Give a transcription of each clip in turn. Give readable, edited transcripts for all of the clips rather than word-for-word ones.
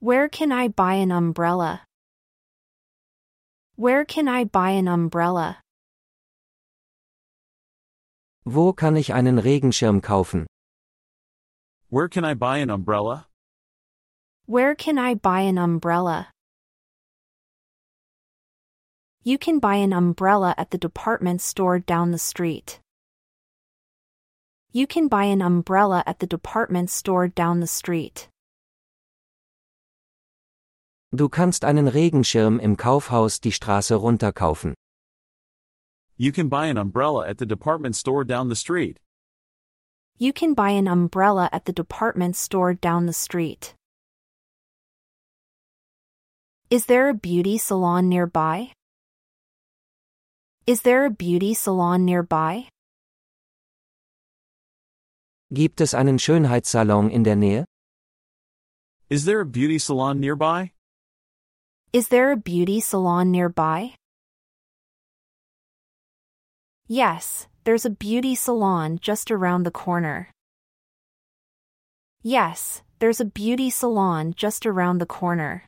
Where can I buy an umbrella? Where can I buy an umbrella? Wo kann ich einen Regenschirm kaufen? Where can I buy an umbrella? Where can I buy an umbrella? You can buy an umbrella at the department store down the street. You can buy an umbrella at the department store down the street. Du kannst einen Regenschirm im Kaufhaus die Straße runter kaufen. You can buy an umbrella at the department store down the street. You can buy an umbrella at the department store down the street. Is there a beauty salon nearby? Is there a beauty salon nearby? Gibt es einen Schönheitssalon in der Nähe? Is there a beauty salon nearby? Is there a beauty salon nearby? Yes, there's a beauty salon just around the corner. Yes, there's a beauty salon just around the corner.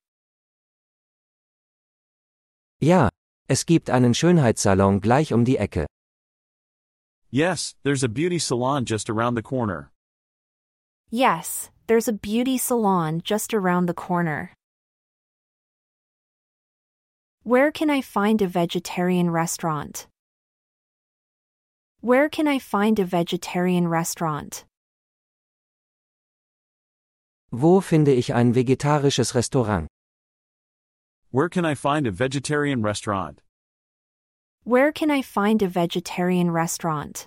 Ja, es gibt einen Schönheitssalon gleich um die Ecke. Yes, there's a beauty salon just around the corner. Yes, there's a beauty salon just around the corner. Where can I find a vegetarian restaurant? Where can I find a vegetarian restaurant? Wo finde ich ein vegetarisches Restaurant? Where can I find a vegetarian restaurant? Where can I find a vegetarian restaurant?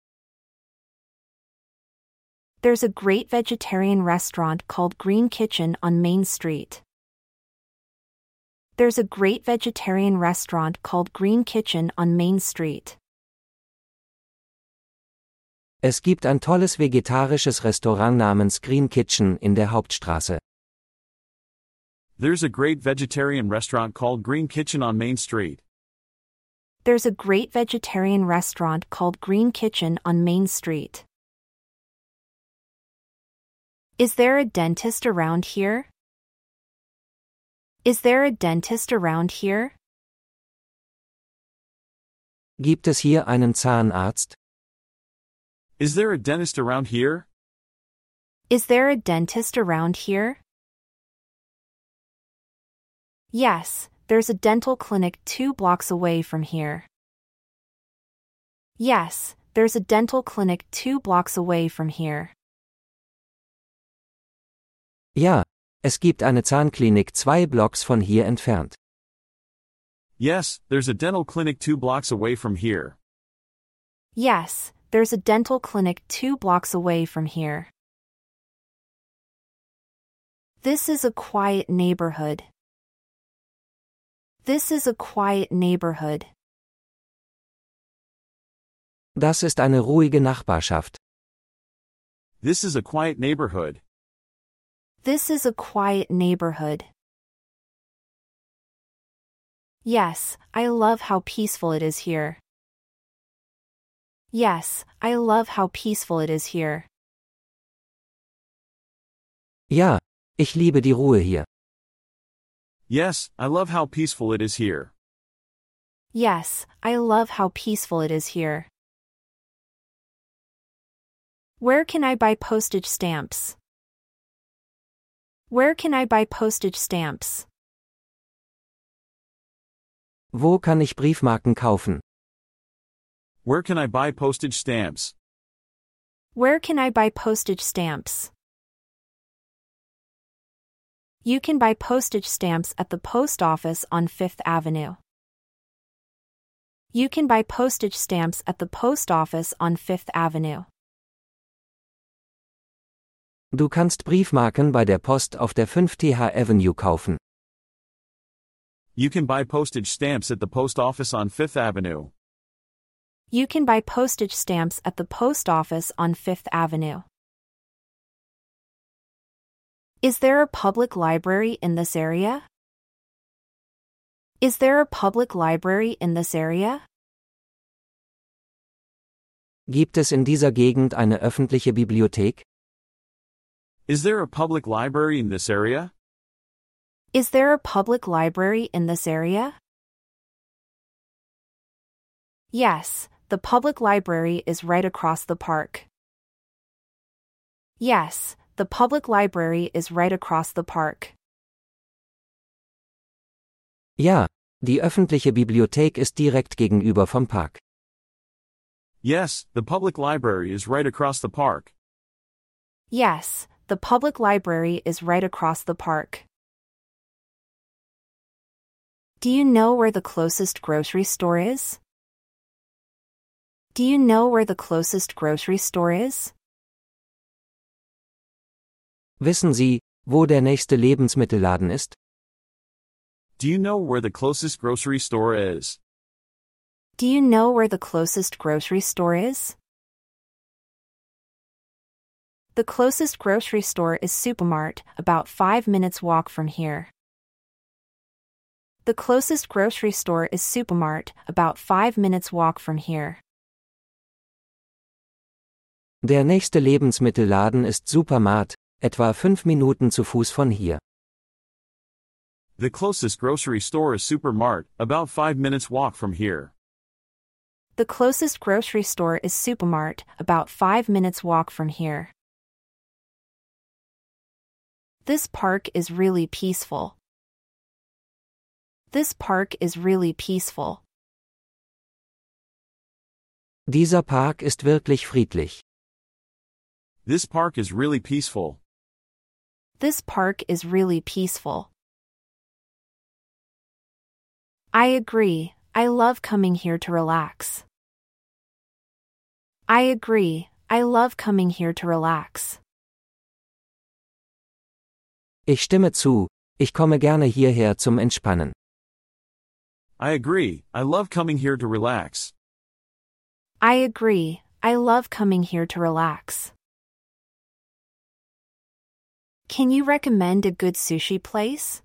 There's a great vegetarian restaurant called Green Kitchen on Main Street. There's a great vegetarian restaurant called Green Kitchen on Main Street. Es gibt ein tolles vegetarisches Restaurant namens Green Kitchen in der Hauptstraße. There's a great vegetarian restaurant called Green Kitchen on Main Street. There's a great vegetarian restaurant called Green Kitchen on Main Street. Is there a dentist around here? Is there a dentist around here? Gibt es hier einen Zahnarzt? Is there a dentist around here? Is there a dentist around here? Yes, there's a dental clinic 2 blocks away from here. Yes, there's a dental clinic 2 blocks away from here. Ja, es gibt eine Zahnklinik 2 Blocks von hier entfernt. Yes, there's a dental clinic 2 blocks away from here. Yes, there's a dental clinic 2 blocks away from here. This is a quiet neighborhood. This is a quiet neighborhood. Das ist eine ruhige Nachbarschaft. This is a quiet neighborhood. This is a quiet neighborhood. Yes, I love how peaceful it is here. Yes, I love how peaceful it is here. Ja, ich liebe die Ruhe hier. Yes, I love how peaceful it is here. Yes, I love how peaceful it is here. Where can I buy postage stamps? Where can I buy postage stamps? Wo kann ich Briefmarken kaufen? Where can I buy postage stamps? Where can I buy postage stamps? You can buy postage stamps at the post office on Fifth Avenue. You can buy postage stamps at the post office on Fifth Avenue. Du kannst Briefmarken bei der Post auf der 5th Avenue kaufen. You can buy postage stamps at the post office on Fifth Avenue. You can buy postage stamps at the post office on Fifth Avenue. Is there a public library in this area? Is there a public library in this area? Gibt es in dieser Gegend eine öffentliche Bibliothek? Is there a public library in this area? Is there a public library in this area? Yes, the public library is right across the park. Yes, the public library is right across the park. Ja, die öffentliche Bibliothek ist direkt gegenüber vom Park. Yes, the public library is right across the park. Yes, the public library is right across the park. Do you know where the closest grocery store is? Do you know where the closest grocery store is? Wissen Sie, wo der nächste Lebensmittelladen ist? Do you know where the closest grocery store is? Do you know where the closest grocery store is? The closest grocery store is Supermart, about 5 minutes walk from here. The closest grocery store is Supermart, about 5 minutes walk from here. Der nächste Lebensmittelladen ist Supermart, etwa 5 Minuten zu Fuß von hier. The closest grocery store is Supermart, about 5 minutes walk from here. The closest grocery store is Supermart, about 5 minutes walk from here. This park is really peaceful. This park is really peaceful. Dieser Park ist wirklich friedlich. This park is really peaceful. This park is really peaceful. I agree, I love coming here to relax. I agree, I love coming here to relax. Ich stimme zu, ich komme gerne hierher zum Entspannen. I agree, I love coming here to relax. I agree, I love coming here to relax. Can you recommend a good sushi place?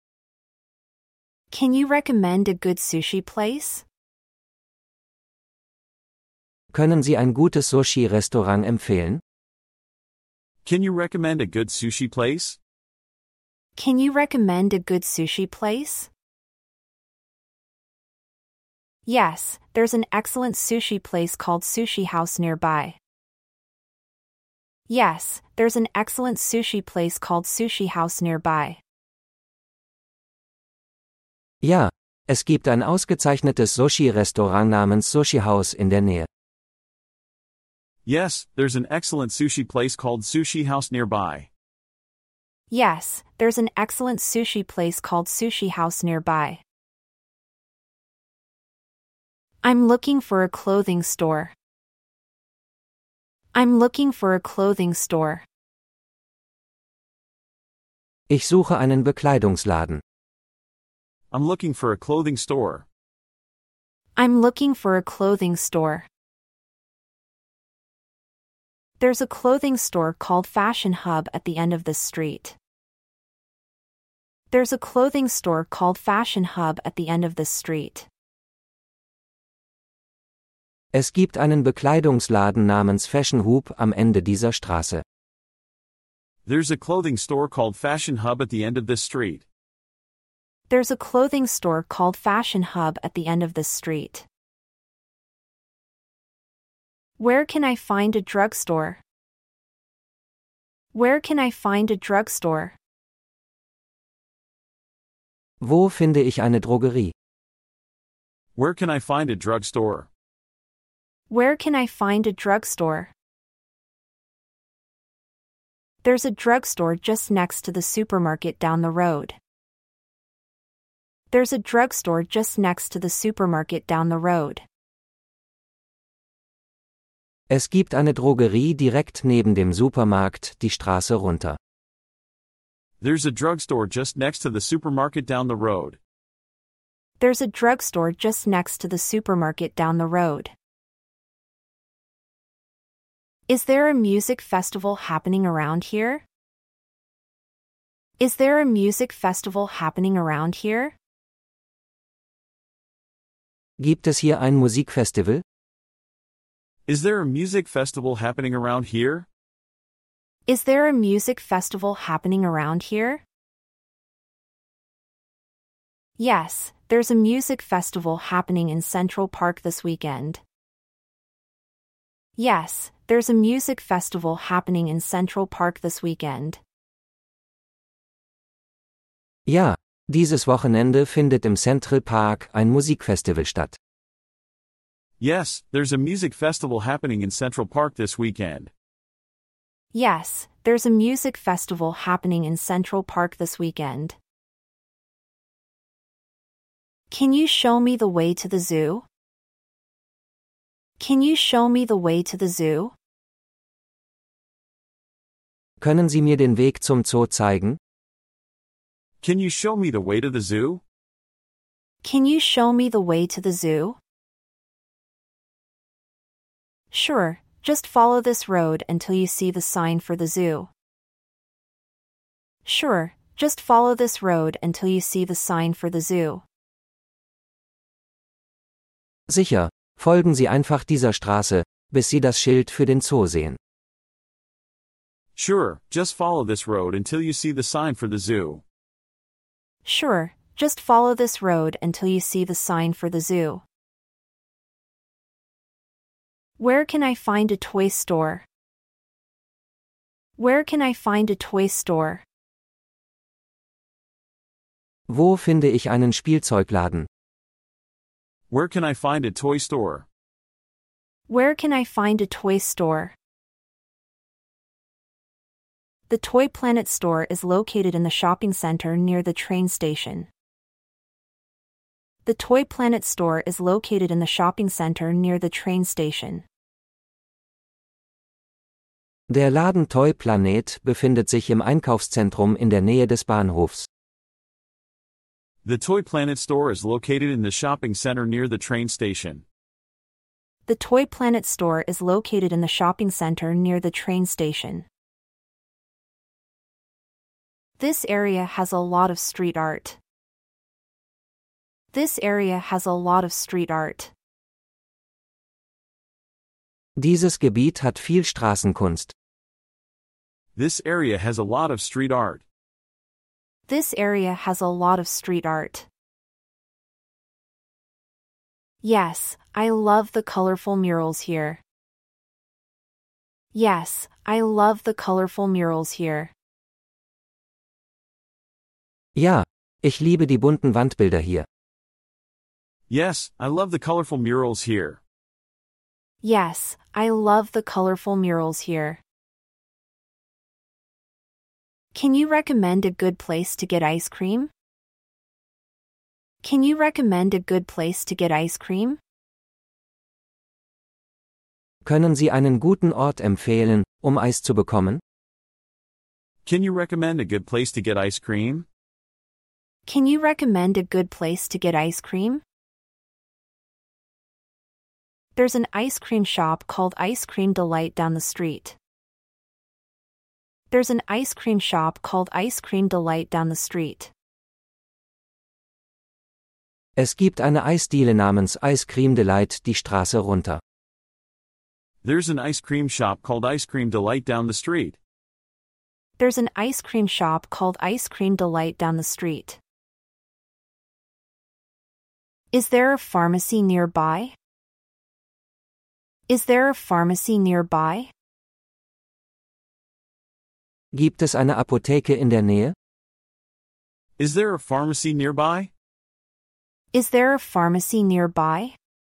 Can you recommend a good sushi place? Können Sie ein gutes Sushi-Restaurant empfehlen? Can you recommend a good sushi place? Can you recommend a good sushi place? Yes, there's an excellent sushi place called Sushi House nearby. Yes, there's an excellent sushi place called Sushi House nearby. Ja, es gibt ein ausgezeichnetes Sushi-Restaurant namens Sushi House in der Nähe. Yes, there's an excellent sushi place called Sushi House nearby. Yes, there's an excellent sushi place called Sushi House nearby. I'm looking for a clothing store. I'm looking for a clothing store. Ich suche einen Bekleidungsladen. I'm looking for a clothing store. I'm looking for a clothing store. There's a clothing store called Fashion Hub at the end of this street. There's a clothing store called Fashion Hub at the end of this street. Es gibt einen Bekleidungsladen namens Fashion Hub am Ende dieser Straße. There's a clothing store called Fashion Hub at the end of this street. There's a clothing store called Fashion Hub at the end of this street. Where can I find a drugstore? Where can I find a drugstore? Wo finde ich eine Drogerie? Where can I find a drugstore? Where can I find a drugstore? There's a drugstore just next to the supermarket down the road. There's a drugstore just next to the supermarket down the road. Es gibt eine Drogerie direkt neben dem Supermarkt die Straße runter. There's a drugstore just next to the supermarket down the road. There's a drugstore just next to the supermarket down the road. Is there a music festival happening around here? Is there a music festival happening around here? Gibt es hier ein Musikfestival? Is there a music festival happening around here? Is there a music festival happening around here? Yes, there's a music festival happening in Central Park this weekend. Yes, there's a music festival happening in Central Park this weekend. Ja, dieses Wochenende findet im Central Park ein Musikfestival statt. Yes, there's a music festival happening in Central Park this weekend. Yes, there's a music festival happening in Central Park this weekend. Can you show me the way to the zoo? Can you show me the way to the zoo? Können Sie mir den Weg zum Zoo zeigen? Can you show me the way to the zoo? Can you show me the way to the zoo? Sure, just follow this road until you see the sign for the zoo. Sure, just follow this road until you see the sign for the zoo. Sicher, folgen Sie einfach dieser Straße, bis Sie das Schild für den Zoo sehen. Sure, just follow this road until you see the sign for the zoo. Sure, just follow this road until you see the sign for the zoo. Where can I find a toy store? Where can I find a toy store? Wo finde ich einen Spielzeugladen? Where can I find a toy store? Where can I find a toy store? The Toy Planet store is located in the shopping center near the train station. The Toy Planet store is located in the shopping center near the train station. Der Laden Toy Planet befindet sich im Einkaufszentrum in der Nähe des Bahnhofs. The Toy Planet store is located in the shopping center near the train station. The Toy Planet store is located in the shopping center near the train station. This area has a lot of street art. This area has a lot of street art. Dieses Gebiet hat viel Straßenkunst. This area has a lot of street art. This area has a lot of street art. Yes, I love the colorful murals here. Yes, I love the colorful murals here. Ja, ich liebe die bunten Wandbilder hier. Yes, I love the colorful murals here. Yes, I love the colorful murals here. Can you recommend a good place to get ice cream? Can you recommend a good place to get ice cream? Können Sie einen guten Ort empfehlen, Eis zu bekommen? Can you recommend a good place to get ice cream? Can you recommend a good place to get ice cream? There's an ice cream shop called Ice Cream Delight down the street. There's an ice cream shop called Ice Cream Delight down the street. Es gibt eine Eisdiele namens Ice Cream Delight die Straße runter. There's an ice cream shop called Ice Cream Delight down the street. There's an ice cream shop called Ice Cream Delight down the street. Is there a pharmacy nearby? Is there a pharmacy nearby? Gibt es eine Apotheke in der Nähe? Is there a pharmacy nearby? Is there a pharmacy nearby?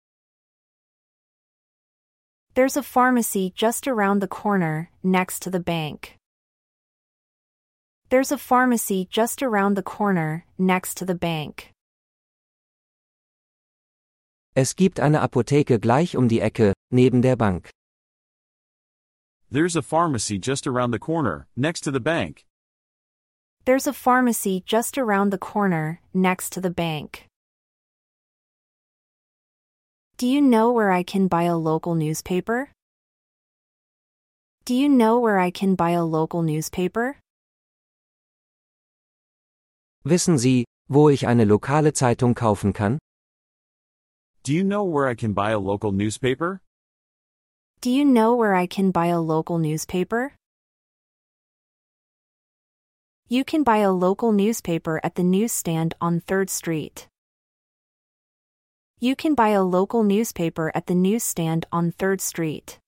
There's a pharmacy just around the corner, next to the bank. There's a pharmacy just around the corner, next to the bank. Es gibt eine Apotheke gleich die Ecke, neben der Bank. There's a pharmacy just around the corner, next to the bank. There's a pharmacy just around the corner, next to the bank. Do you know where I can buy a local newspaper? Do you know where I can buy a local newspaper? Wissen Sie, wo ich eine lokale Zeitung kaufen kann? Do you know where I can buy a local newspaper? Do you know where I can buy a local newspaper? You can buy a local newspaper at the newsstand on 3rd Street. You can buy a local newspaper at the newsstand on 3rd Street.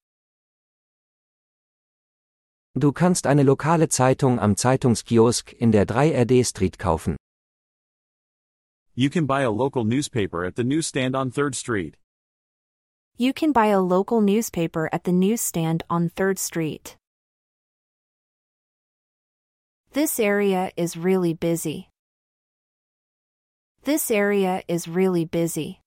Du kannst eine lokale Zeitung am Zeitungskiosk in der 3rd Street kaufen. You can buy a local newspaper at the newsstand on 3rd Street. You can buy a local newspaper at the newsstand on 3rd Street. This area is really busy. This area is really busy.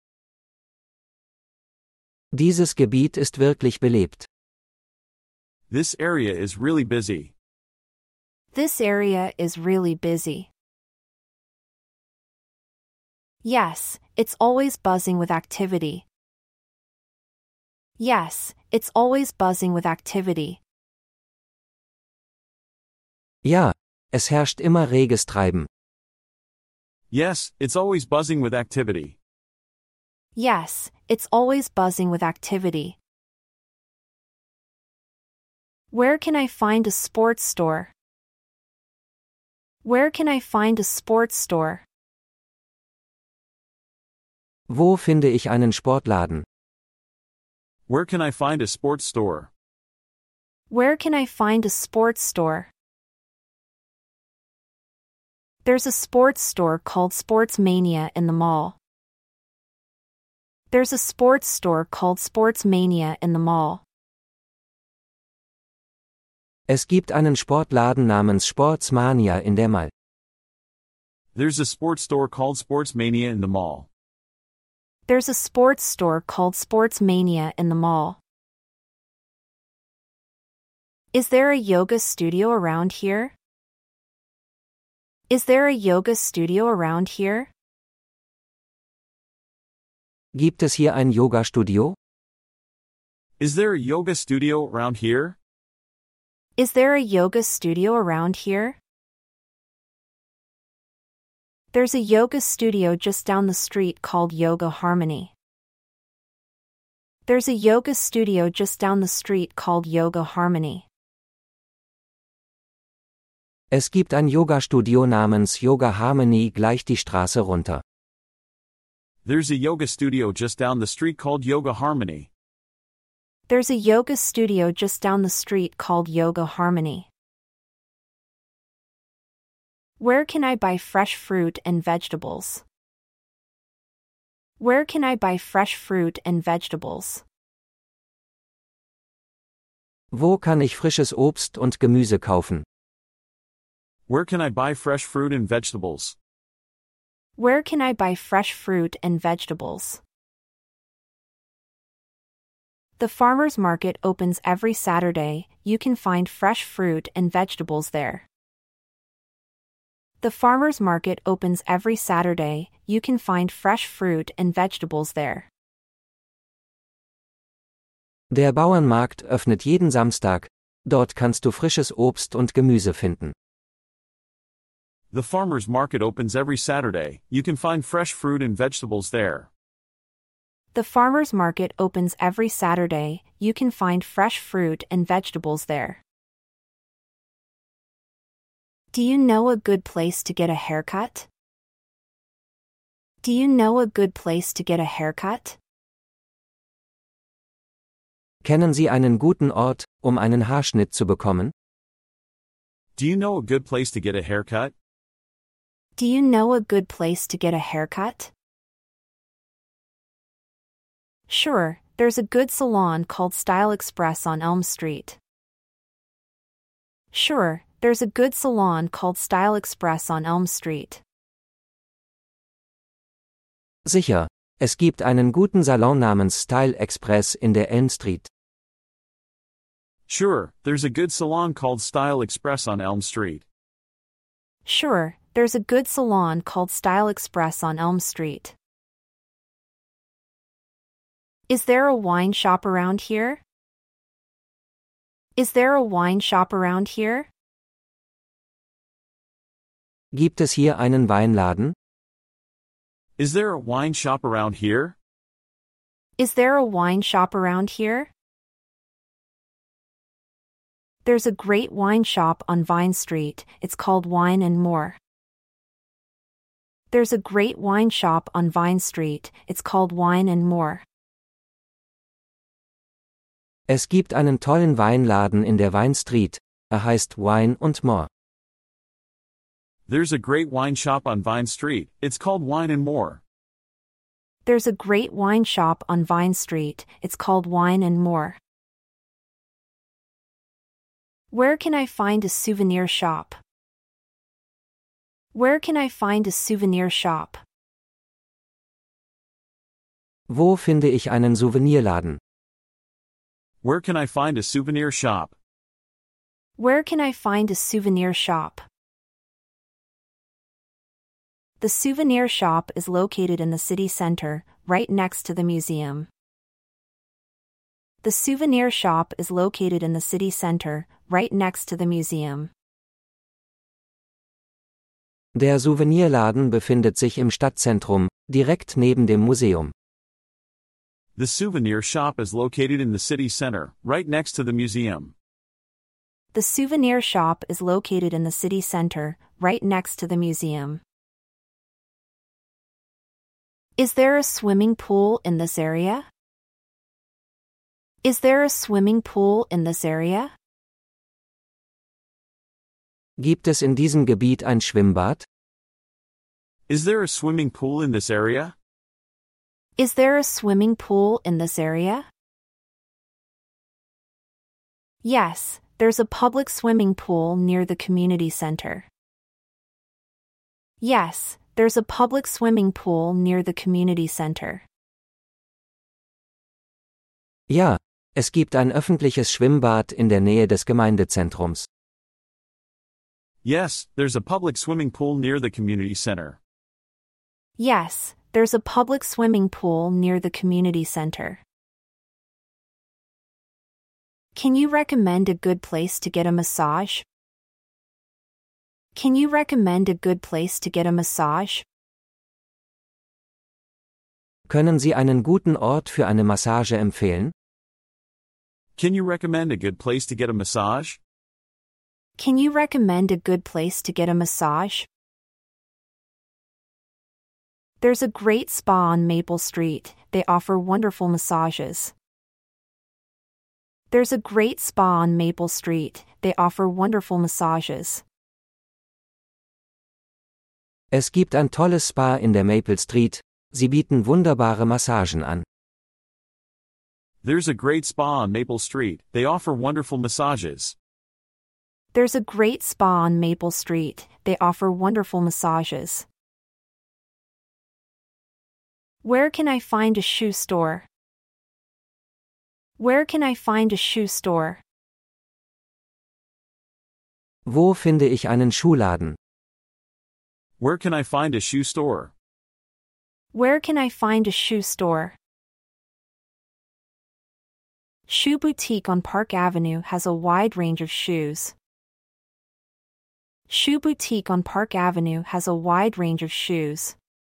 Dieses Gebiet ist wirklich belebt. This area is really busy. This area is really busy. Yes, it's always buzzing with activity. Yes, it's always buzzing with activity. Ja, es herrscht immer reges Treiben. Yes, it's always buzzing with activity. Yes, it's always buzzing with activity. Where can I find a sports store? Where can I find a sports store? Wo finde ich einen Sportladen? Where can I find a sports store? Where can I find a sports store? There's a sports store called Sports Mania in the mall. There's a sports store called Sports Mania in the mall. Es gibt einen Sportladen namens Sportsmania in der Mall. There's a sports store called Sports Mania in the mall. There's a sports store called Sports Mania in the mall. Is there a yoga studio around here? Is there a yoga studio around here? Gibt es hier ein Yoga-Studio? Is there a yoga studio around here? Is there a yoga studio around here? There's a yoga studio just down the street called Yoga Harmony. There's a yoga studio just down the street called Yoga Harmony. Es gibt ein Yoga-Studio namens Yoga Harmony gleich die Straße runter. There's a yoga studio just down the street called Yoga Harmony. There's a yoga studio just down the street called Yoga Harmony. Where can I buy fresh fruit and vegetables? Where can I buy fresh fruit and vegetables? Wo kann ich frisches Obst und Gemüse kaufen? Where can I buy fresh fruit and vegetables? Where can I buy fresh fruit and vegetables? The farmer's market opens every Saturday. You can find fresh fruit and vegetables there. The farmer's market opens every Saturday. You can find fresh fruit and vegetables there. Der Bauernmarkt öffnet jeden Samstag. Dort kannst du frisches Obst und Gemüse finden. The farmer's market opens every Saturday. You can find fresh fruit and vegetables there. The farmer's market opens every Saturday. You can find fresh fruit and vegetables there. Do you know a good place to get a haircut? Do you know a good place to get a haircut? Kennen Sie einen guten Ort, einen Haarschnitt zu bekommen? Do you know a good place to get a haircut? Do you know a good place to get a haircut? Sure, there's a good salon called Style Express on Elm Street. Sure, there's a good salon called Style Express on Elm Street. Sicher, es gibt einen guten Salon namens Style Express in der Elm Street. Sure, there's a good salon called Style Express on Elm Street. Sure, there's a good salon called Style Express on Elm Street. Is there a wine shop around here? Is there a wine shop around here? Gibt es hier einen Weinladen? Is there a wine shop around here? Is there a wine shop around here? There's a great wine shop on Vine Street, it's called Wine and More. There's a great wine shop on Vine Street, it's called Wine and More. Es gibt einen tollen Weinladen in der Vine Street, heißt Wine und More. There's a great wine shop on Vine Street, it's called Wine and More. There's a great wine shop on Vine Street, it's called Wine and More. Where can I find a souvenir shop? Where can I find a souvenir shop? Wo finde ich einen Souvenirladen? Where can I find a souvenir shop? Where can I find a souvenir shop? The souvenir shop is located in the city center, right next to the museum. The souvenir shop is located in the city center, right next to the museum. Der Souvenirladen befindet sich im Stadtzentrum, direkt neben dem Museum. The souvenir shop is located in the city center, right next to the museum. The souvenir shop is located in the city center, right next to the museum. Is there a swimming pool in this area? Is there a swimming pool in this area? Gibt es in diesem Gebiet ein Schwimmbad? Is there a swimming pool in this area? Is there a swimming pool in this area? Yes, there's a public swimming pool near the community center. Yes, there's a public swimming pool near the community center. Ja, es gibt ein öffentliches Schwimmbad in der Nähe des Gemeindezentrums. Yes, there's a public swimming pool near the community center. Yes, there's a public swimming pool near the community center. Can you recommend a good place to get a massage? Can you recommend a good place to get a massage? Können Sie einen guten Ort für eine Massage empfehlen? Can you recommend a good place to get a massage? Can you recommend a good place to get a massage? There's a great spa on Maple Street, they offer wonderful massages. There's a great spa on Maple Street, they offer wonderful massages. Es gibt ein tolles Spa in der Maple Street, sie bieten wunderbare Massagen an. There's a great spa on Maple Street, they offer wonderful massages. There's a great spa on Maple Street, they offer wonderful massages. Where can I find a shoe store? Where can I find a shoe store? Wo finde ich einen Schuhladen? Where can I find a shoe store? Where can I find a shoe store? Shoe Boutique on Park Avenue has a wide range of shoes. Shoe Boutique on Park Avenue has a wide range of shoes.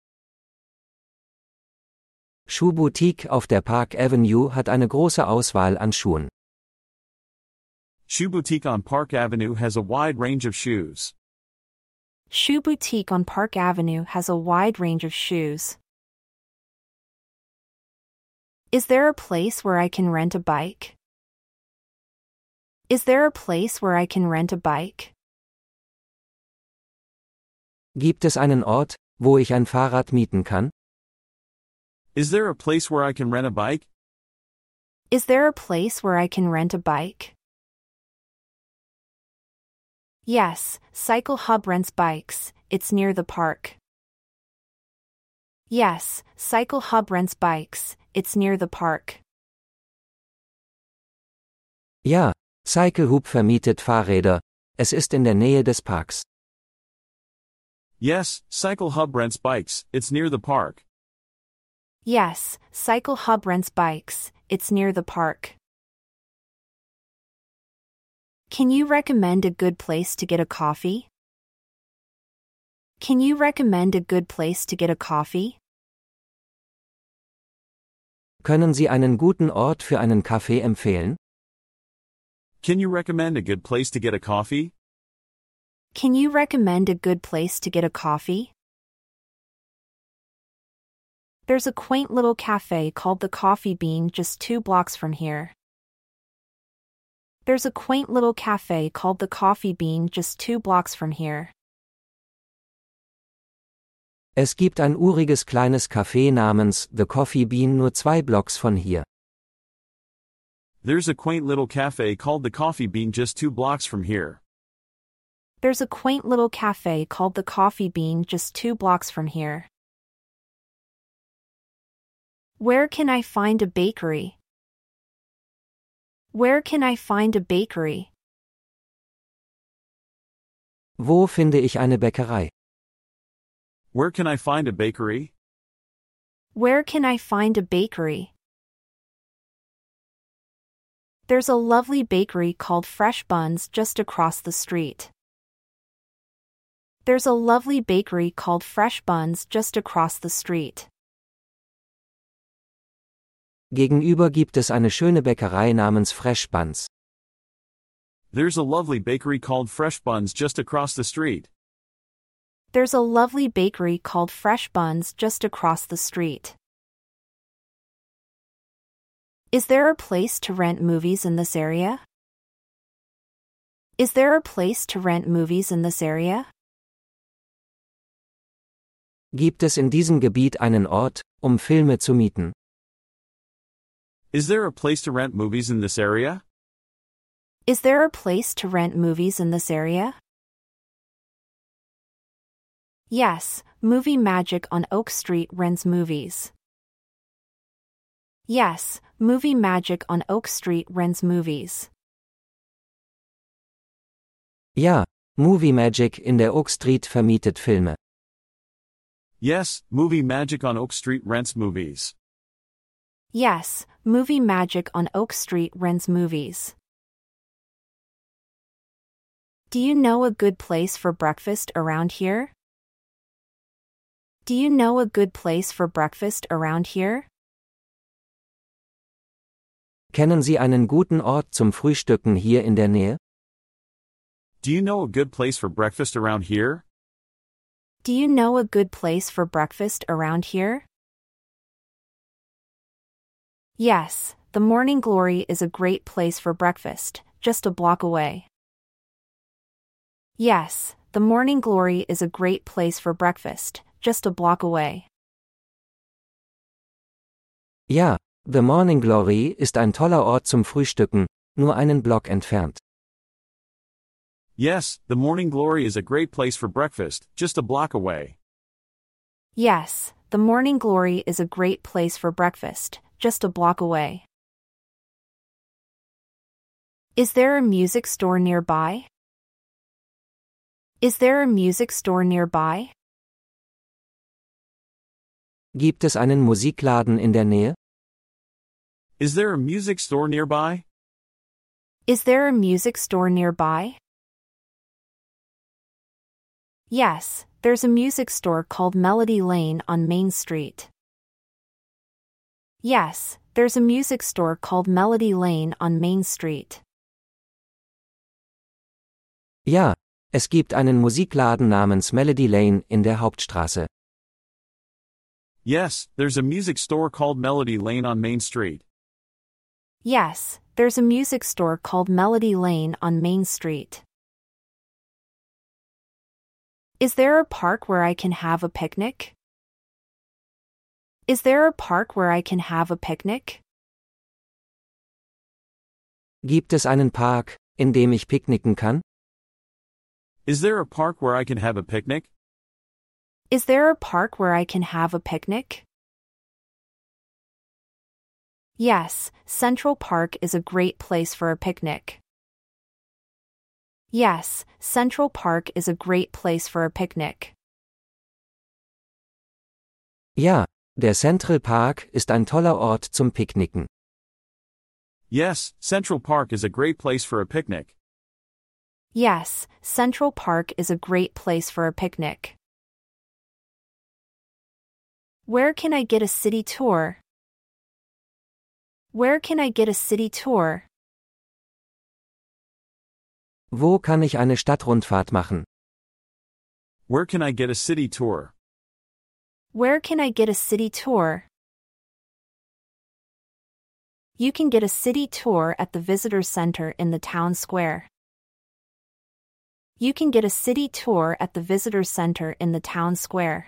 Schuhboutique auf der Park Avenue hat eine große Auswahl an Schuhen. Shoe Boutique on Park Avenue has a wide range of shoes. Shoe Boutique on Park Avenue has a wide range of shoes. Is there a place where I can rent a bike? Is there a place where I can rent a bike? Gibt es einen Ort, wo ich ein Fahrrad mieten kann? Is there a place where I can rent a bike? Is there a place where I can rent a bike? Yes, Cycle Hub rents bikes, it's near the park. Yes, Cycle Hub rents bikes, it's near the park. Ja, Cycle Hub vermietet Fahrräder, es ist in der Nähe des Parks. Yes, Cycle Hub rents bikes, it's near the park. Yes, Cycle Hub rents bikes, it's near the park. Can you recommend a good place to get a coffee? Can you recommend a good place to get a coffee? Können Sie einen guten Ort für einen Kaffee empfehlen? Can you recommend a good place to get a coffee? Can you recommend a good place to get a coffee? There's a quaint little cafe called the Coffee Bean just 2 blocks from here. There's a quaint little cafe called the Coffee Bean just 2 blocks from here. Es gibt ein uriges kleines Café namens The Coffee Bean nur 2 Blocks von hier. There's a quaint little cafe called the Coffee Bean just 2 blocks from here. There's a quaint little cafe called the Coffee Bean just 2 blocks from here. Where can I find a bakery? Where can I find a bakery? Wo finde ich eine Bäckerei? Where can I find a bakery? Where can I find a bakery? There's a lovely bakery called Fresh Buns just across the street. There's a lovely bakery called Fresh Buns just across the street. Gegenüber gibt es eine schöne Bäckerei namens Fresh Buns. There's a lovely bakery called Fresh Buns just across the street. There's a lovely bakery called Fresh Buns just across the street. Is there a place to rent movies in this area? Is there a place to rent movies in this area? Gibt es in diesem Gebiet einen Ort, um Filme zu mieten? Is there a place to rent movies in this area? Is there a place to rent movies in this area? Yes, Movie Magic on Oak Street rents movies. Yes, Movie Magic on Oak Street rents movies. Ja, Movie Magic in der Oak Street vermietet Filme. Yes, Movie Magic on Oak Street rents movies. Yes, Movie Magic on Oak Street rents movies. Do you know a good place for breakfast around here? Do you know a good place for breakfast around here? Kennen Sie einen guten Ort zum Frühstücken hier in der Nähe? Do you know a good place for breakfast around here? Do you know a good place for breakfast around here? Yes, the Morning Glory is a great place for breakfast, just a block away. Yes, the Morning Glory is a great place for breakfast, just a block away. Ja, The Morning Glory ist ein toller Ort zum Frühstücken, nur einen Block entfernt. Yes, the Morning Glory is a great place for breakfast, just a block away. Yes, the Morning Glory is a great place for breakfast, just a block away. Is there a music store nearby? Is there a music store nearby? Gibt es einen Musikladen in der Nähe? Is there a music store nearby? Is there a music store nearby? Yes, there's a music store called Melody Lane on Main Street. Yes, there's a music store called Melody Lane on Main Street. Ja, es gibt einen Musikladen namens Melody Lane in der Hauptstraße. Yes, there's a music store called Melody Lane on Main Street. Yes, there's a music store called Melody Lane on Main Street. Is there a park where I can have a picnic? Is there a park where I can have a picnic? Gibt es einen Park, in dem ich picknicken kann? Is there a park where I can have a picnic? Is there a park where I can have a picnic? Yes, Central Park is a great place for a picnic. Yes, Central Park is a great place for a picnic. Ja, der Central Park ist ein toller Ort zum Picknicken. Yes, Central Park is a great place for a picnic. Yes, Central Park is a great place for a picnic. Where can I get a city tour? Where can I get a city tour? Wo kann ich eine Stadtrundfahrt machen? Where can I get a city tour? Where can I get a city tour? You can get a city tour at the visitor center in the town square. You can get a city tour at the visitor center in the town square.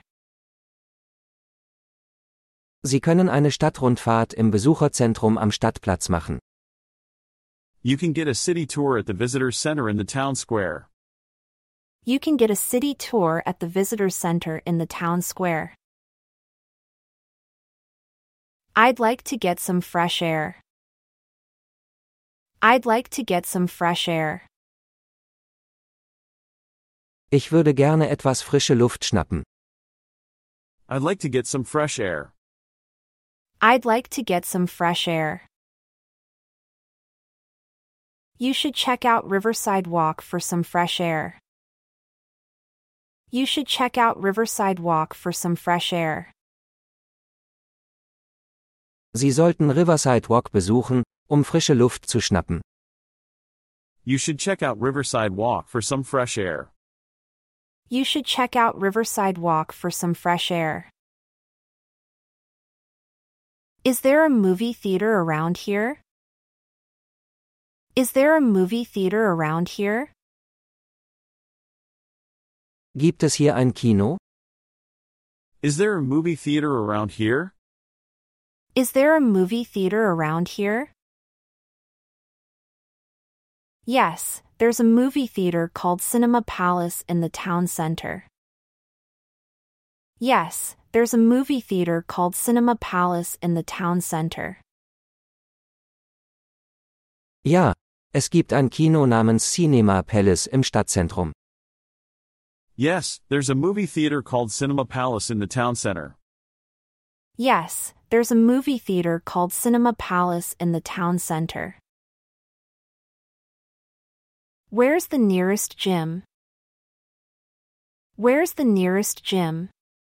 Sie können eine Stadtrundfahrt im Besucherzentrum am Stadtplatz machen. You can get a city tour at the visitor center in the town square. You can get a city tour at the visitor center in the town square. I'd like to get some fresh air. I'd like to get some fresh air. Ich würde gerne etwas frische Luft schnappen. I'd like to get some fresh air. I'd like to get some fresh air. You should check out Riverside Walk for some fresh air. You should check out Riverside Walk for some fresh air. Sie sollten Riverside Walk besuchen, frische Luft zu schnappen. You should check out Riverside Walk for some fresh air. You should check out Riverside Walk for some fresh air. Is there a movie theater around here? Is there a movie theater around here? Gibt es hier ein Kino? Is there a movie theater around here? Is there a movie theater around here? Yes, there's a movie theater called Cinema Palace in the town center. Yes, there's a movie theater called Cinema Palace in the town center. Ja, es gibt ein Kino namens Cinema Palace im Stadtzentrum. Yes, there's a movie theater called Cinema Palace in the town center. Yes, there's a movie theater called Cinema Palace in the town center. Where's the nearest gym? Where's the nearest gym?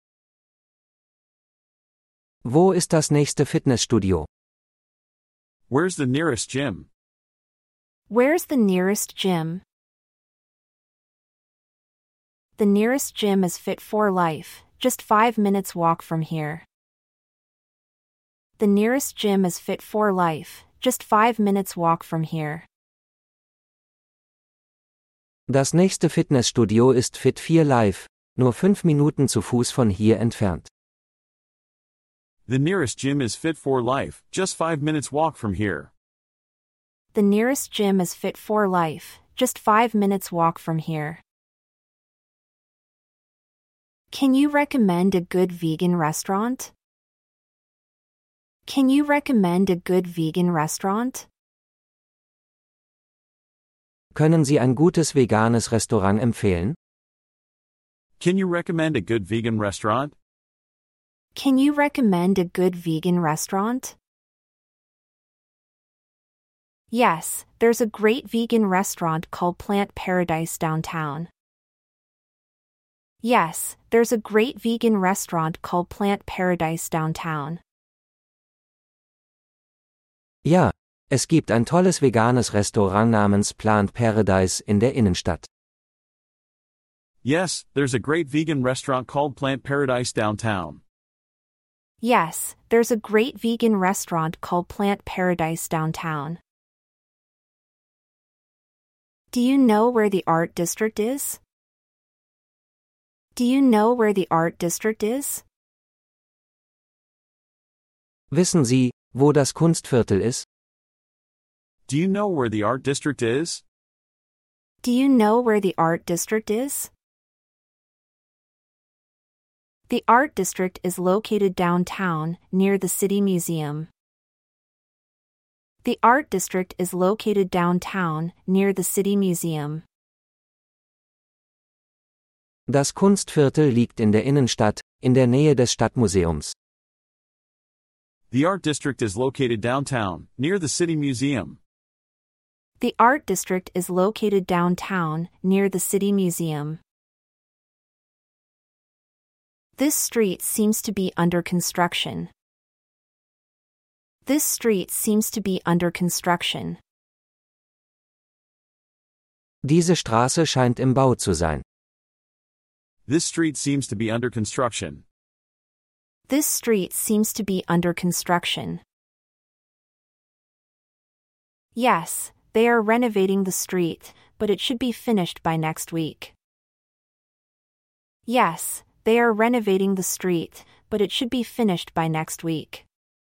Wo ist das nächste Fitnessstudio? Where's the nearest gym? Where's the nearest gym? The nearest gym is Fit for Life, just 5 minutes walk from here. The nearest gym is Fit for Life, just 5 minutes walk from here. Das nächste Fitnessstudio ist Fit 4 Live, nur 5 Minuten zu Fuß von hier entfernt. The nearest gym is Fit for Life, just 5 minutes walk from here. The nearest gym is Fit for Life, just 5 minutes walk from here. Can you recommend a good vegan restaurant? Can you recommend a good vegan restaurant? Können Sie ein gutes veganes Restaurant empfehlen? Can you recommend a good vegan restaurant? Can you recommend a good vegan restaurant? Yes, there's a great vegan restaurant called Plant Paradise downtown. Yes, there's a great vegan restaurant called Plant Paradise downtown. Ja, es gibt ein tolles veganes Restaurant namens Plant Paradise in der Innenstadt. Yes, there's a great vegan restaurant called Plant Paradise downtown. Yes, there's a great vegan restaurant called Plant Paradise downtown. Do you know where the art district is? Do you know where the art district is? Wissen Sie, wo das Kunstviertel ist? Do you know where the art district is? Do you know where the art district is? The art district is located downtown, near the City Museum. The art district is located downtown, near the City Museum. Das Kunstviertel liegt in der Innenstadt, in der Nähe des Stadtmuseums. The art district is located downtown, near the City Museum. The art district is located downtown, near the City Museum. This street seems to be under construction. This street seems to be under construction. Diese Straße scheint im Bau zu sein. This street seems to be under construction. This street seems to be under construction. Yes, they are renovating the street, but it should be finished by next week. Yes, they are renovating the street, but it should be finished by next week.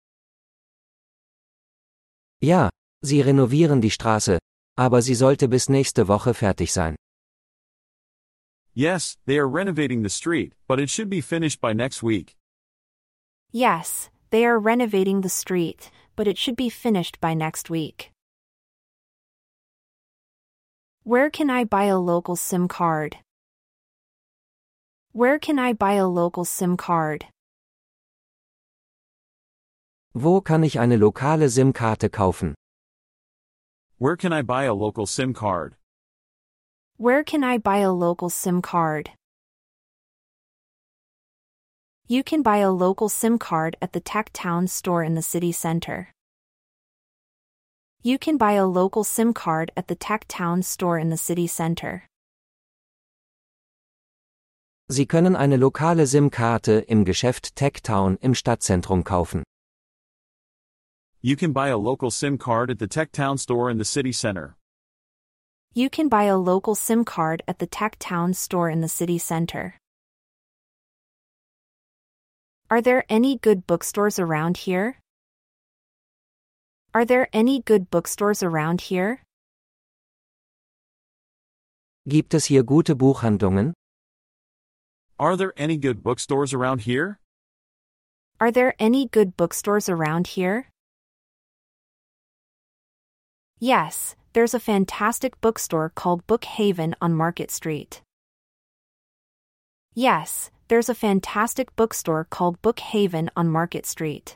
Ja, sie renovieren die Straße, aber sie sollte bis nächste Woche fertig sein. Yes, they are renovating the street, but it should be finished by next week. Yes, they are renovating the street, but it should be finished by next week. Where can I buy a local SIM card? Where can I buy a local SIM card? Wo kann ich eine lokale SIM-Karte kaufen? Where can I buy a local SIM card? Where can I buy a local SIM card? You can buy a local SIM card at the TechTown store in the city center. You can buy a local SIM card at the TechTown store in the city center. Sie können eine lokale SIM-Karte im Geschäft TechTown im Stadtzentrum kaufen. You can buy a local SIM card at the TechTown store in the city center. You can buy a local SIM card at the TechTown store in the city center. Are there any good bookstores around here? Are there any good bookstores around here? Gibt es hier gute Buchhandlungen? Are there any good bookstores around here? Are there any good bookstores around here? Yes, there's a fantastic bookstore called Bookhaven on Market Street. Yes, there's a fantastic bookstore called Bookhaven on Market Street.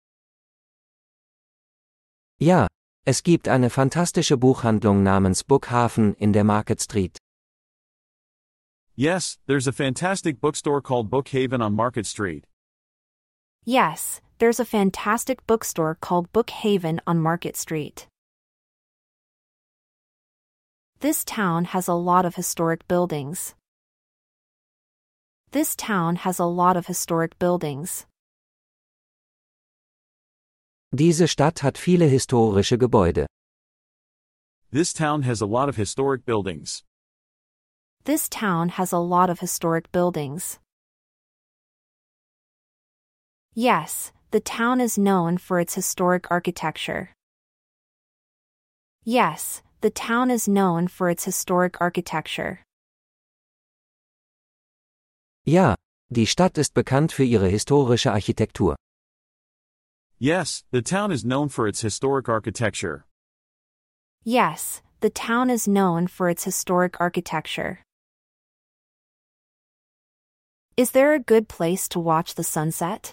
Ja, es gibt eine fantastische Buchhandlung namens Bookhaven in der Market Street. Yes, there's a fantastic bookstore called Bookhaven on Market Street. Yes, there's a fantastic bookstore called Bookhaven on Market Street. This town has a lot of historic buildings. This town has a lot of historic buildings. Diese Stadt hat viele historische Gebäude. This town has a lot of historic buildings. This town has a lot of historic buildings. Yes, the town is known for its historic architecture. Yes, the town is known for its historic architecture. Ja, die Stadt ist bekannt für ihre historische Architektur. Yes, the town is known for its historic architecture. Yes, the town is known for its historic architecture. Is there a good place to watch the sunset?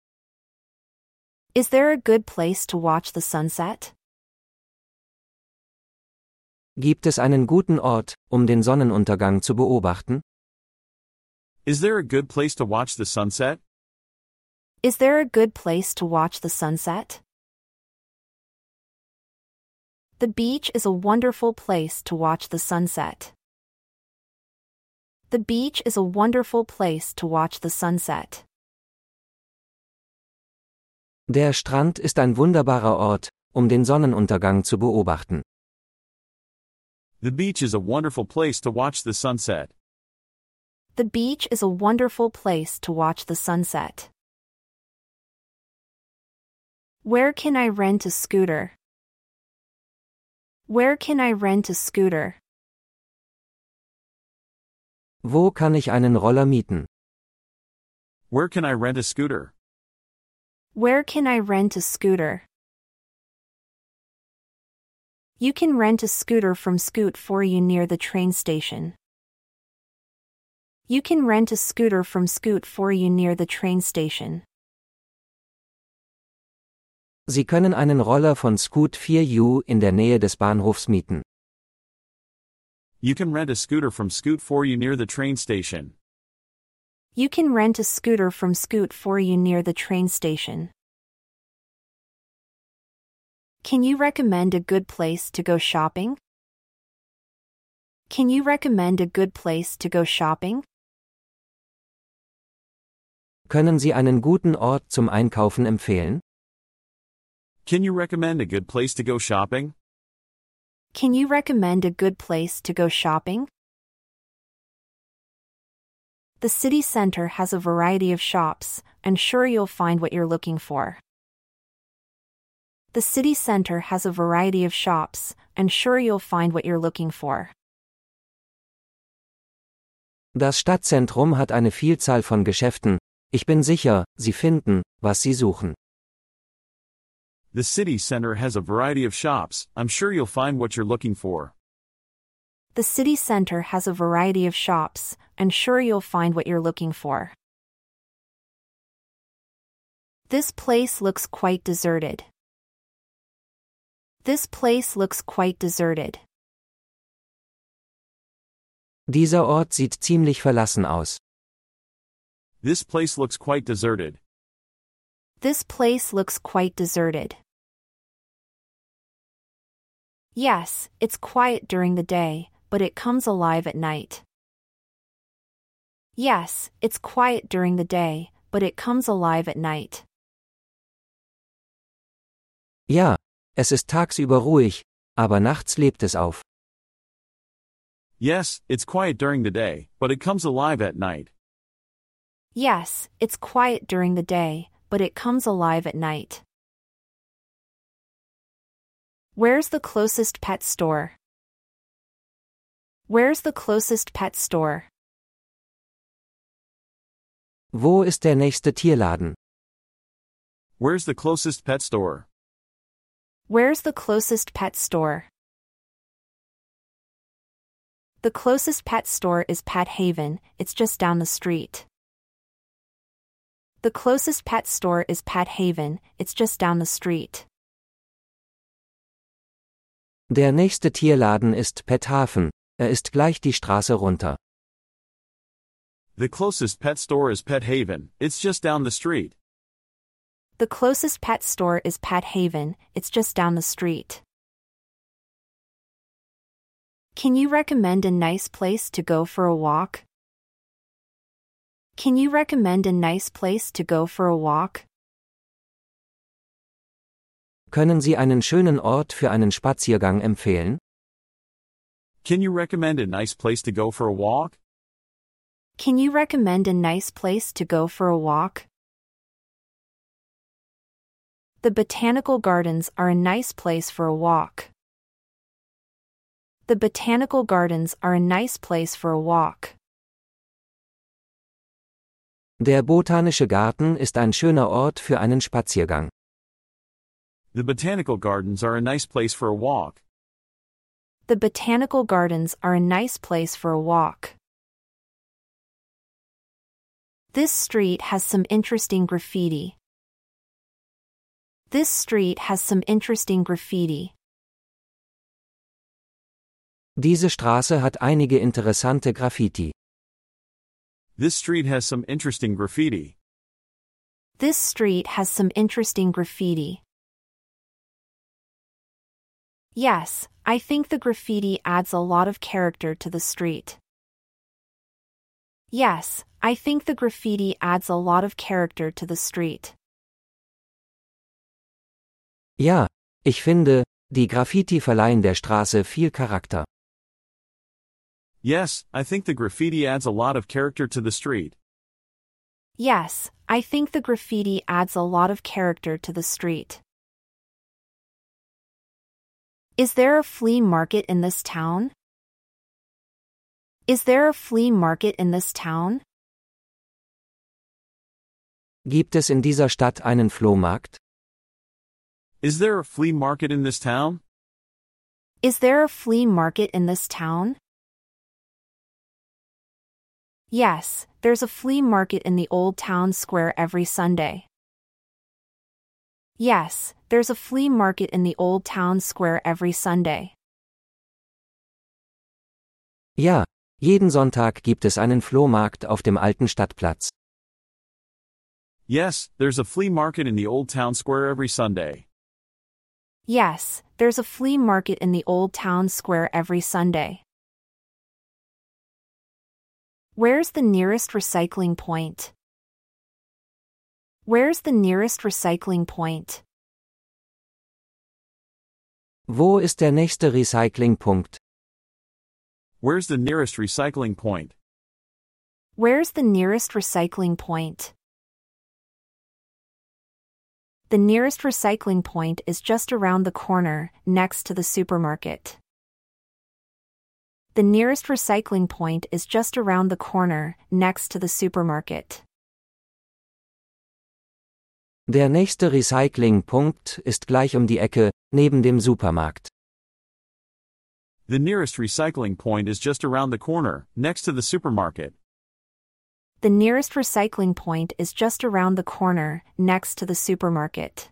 Is there a good place to watch the sunset? Gibt es einen guten Ort, um den Sonnenuntergang zu beobachten? Is there a good place to watch the sunset? Is there a good place to watch the sunset? The beach is a wonderful place to watch the sunset. The beach is a wonderful place to watch the sunset. Der Strand ist ein wunderbarer Ort, um den Sonnenuntergang zu beobachten. The beach is a wonderful place to watch the sunset. The beach is a wonderful place to watch the sunset. Where can I rent a scooter? Where can I rent a scooter? Wo kann ich einen Roller mieten? Where can I rent a scooter? Where can I rent a scooter? You can rent a scooter from Scoot for you near the train station. You can rent a scooter from Scoot for you near the train station. Sie können einen Roller von Scoot 4U in der Nähe des Bahnhofs mieten. You can rent a scooter from Scoot for you near the train station. You can rent a scooter from Scoot for you near the train station. Can you recommend a good place to go shopping? Can you recommend a good place to go shopping? Können Sie einen guten Ort zum Einkaufen empfehlen? Can you recommend a good place to go shopping? Can you recommend a good place to go shopping? The city center has a variety of shops. I'm sure you'll find what you're looking for. The city center has a variety of shops. I'm sure you'll find what you're looking for. Das Stadtzentrum hat eine Vielzahl von Geschäften. Ich bin sicher, Sie finden, was Sie suchen. The city center has a variety of shops. I'm sure you'll find what you're looking for. The city center has a variety of shops. I'm sure you'll find what you're looking for. This place looks quite deserted. This place looks quite deserted. Dieser Ort sieht ziemlich verlassen aus. This place looks quite deserted. This place looks quite deserted. Yes, it's quiet during the day, but it comes alive at night. Yes, it's quiet during the day, but it comes alive at night. Ja, es ist tagsüber ruhig, aber nachts lebt es auf. Yes, it's quiet during the day, but it comes alive at night. Yes, it's quiet during the day, but it comes alive at night. Where's the closest pet store? Where's the closest pet store? Wo ist der nächste Tierladen? Where's the closest pet store? Where's the closest pet store? The closest pet store is Pet Haven, it's just down the street. The closest pet store is Pet Haven, it's just down the street. Der nächste Tierladen ist Pet Haven, ist gleich die Straße runter. The closest pet store is Pet Haven, it's just down the street. The closest pet store is Pet Haven, it's just down the street. Can you recommend a nice place to go for a walk? Can you recommend a nice place to go for a walk? Können Sie einen schönen Ort für einen Spaziergang empfehlen? Can you recommend a nice place to go for a walk? Can you recommend a nice place to go for a walk? The botanical gardens are a nice place for a walk. The botanical gardens are a nice place for a walk. Der botanische Garten ist ein schöner Ort für einen Spaziergang. The botanical gardens are a nice place for a walk. The botanical gardens are a nice place for a walk. This street has some interesting graffiti. This street has some interesting graffiti. Diese Straße hat einige interessante Graffiti. This street has some interesting graffiti. This street has some interesting graffiti. Yes, I think the graffiti adds a lot of character to the street. Yes, I think the graffiti adds a lot of character to the street. Ja, ich finde, die Graffiti verleihen der Straße viel Charakter. Yes, I think the graffiti adds a lot of character to the street. Yes, I think the graffiti adds a lot of character to the street. Is there a flea market in this town? Is there a flea market in this town? Gibt es in dieser Stadt einen Flohmarkt? Is there a flea market in this town? Is there a flea market in this town? Yes, there's a flea market in the old town square every Sunday. Yes, there's a flea market in the old town square every Sunday. Ja, jeden Sonntag gibt es einen Flohmarkt auf dem alten Stadtplatz. Yes, there's a flea market in the old town square every Sunday. Yes, there's a flea market in the old town square every Sunday. Where's the nearest recycling point? Where's the nearest recycling point? Wo ist der nächste Recyclingpunkt? Where's the nearest recycling point? Where's the nearest recycling point? The nearest recycling point is just around the corner, next to the supermarket. The nearest recycling point is just around the corner, next to the supermarket. Der nächste Recyclingpunkt ist gleich um die Ecke, neben dem Supermarkt. The nearest recycling point is just around the corner, next to the supermarket. The nearest recycling point is just around the corner, next to the supermarket.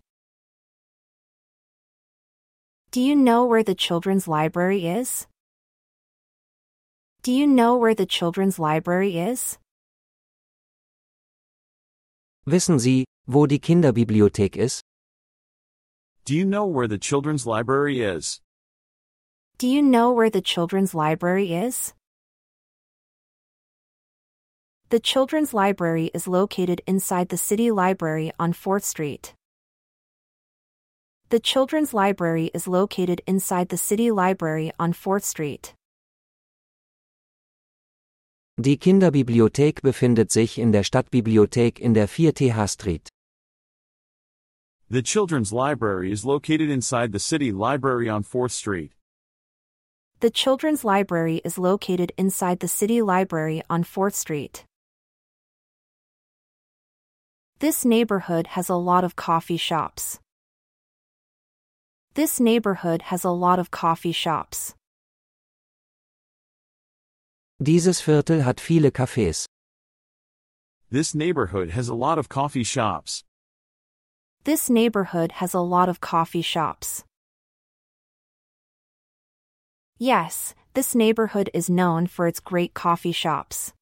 Do you know where the children's library is? Do you know where the children's library is? Wissen Sie, wo die Kinderbibliothek ist? Do you know where the children's library is? Do you know where the children's library is? The children's library is located inside the city library on 4th Street. The children's library is located inside the city library on 4th Street. Die Kinderbibliothek befindet sich in der Stadtbibliothek in der 4th Street. The children's library is located inside the city library on 4th Street. The children's library is located inside the city library on 4th Street. This neighborhood has a lot of coffee shops. This neighborhood has a lot of coffee shops. Dieses Viertel hat viele Cafés. This neighborhood has a lot of coffee shops. This neighborhood has a lot of coffee shops. Yes, this neighborhood is known for its great coffee shops.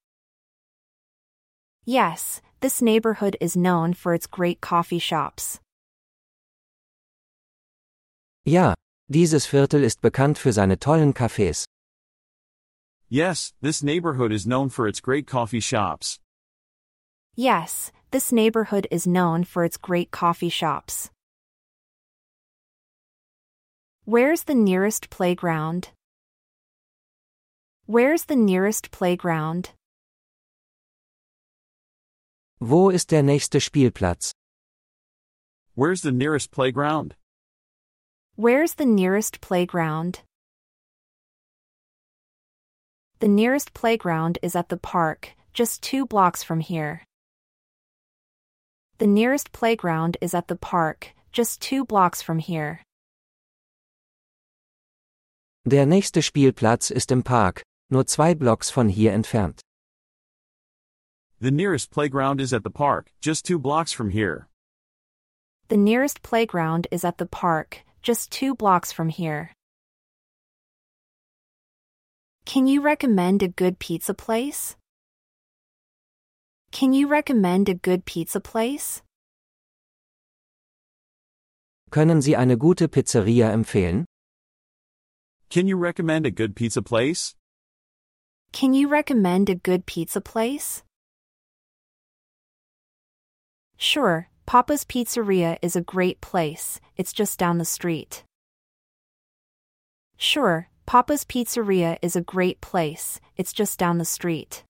Yes, this neighborhood is known for its great coffee shops. Ja, dieses Viertel ist bekannt für seine tollen Cafés. Yes, this neighborhood is known for its great coffee shops. Yes, this neighborhood is known for its great coffee shops. Where's the nearest playground? Where's the nearest playground? Wo ist der nächste Spielplatz? Where's the nearest playground? Where's the nearest playground? The nearest playground is at the park, just 2 blocks from here. The nearest playground is at the park, just 2 blocks from here. Der nächste Spielplatz ist im Park, nur 2 Blocks von hier entfernt. The nearest playground is at the park, just 2 blocks from here. The nearest playground is at the park, just 2 blocks from here. Can you recommend a good pizza place? Can you recommend a good pizza place? Können Sie eine gute Pizzeria empfehlen? Can you recommend a good pizza place? Can you recommend a good pizza place? Sure, Papa's Pizzeria is a great place, it's just down the street. Sure, Papa's Pizzeria is a great place, it's just down the street.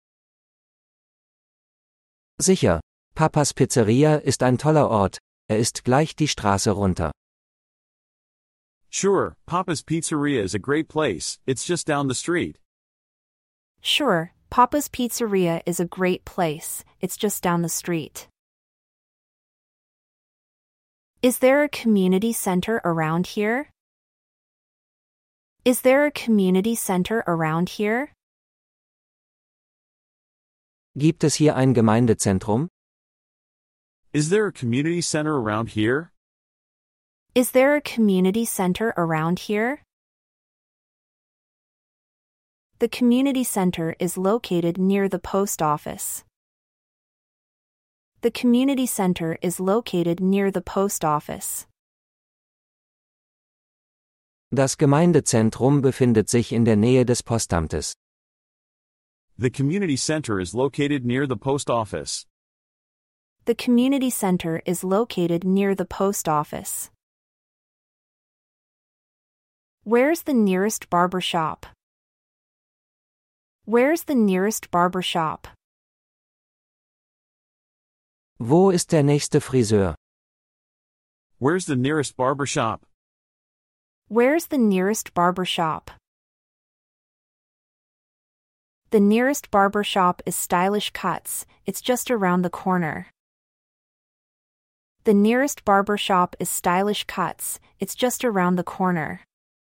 Sicher, Papas Pizzeria ist ein toller Ort, ist gleich die Straße runter. Sure, Papa's Pizzeria is a great place, it's just down the street. Sure, Papa's Pizzeria is a great place, it's just down the street. Is there a community center around here? Is there a community center around here? Gibt es hier ein Gemeindezentrum? Is there a community center around here? Is there a community center around here? The community center is located near the post office. The community center is located near the post office. Das Gemeindezentrum befindet sich in der Nähe des Postamtes. The community center is located near the post office. The community center is located near the post office. Where's the nearest barber shop? Where's the nearest barber shop? Wo ist der nächste Friseur? Where's the nearest barber shop? Where's the nearest barber shop? The nearest barber shop is Stylish Cuts, it's just around the corner. The nearest barber shop is Stylish Cuts, it's just around the corner.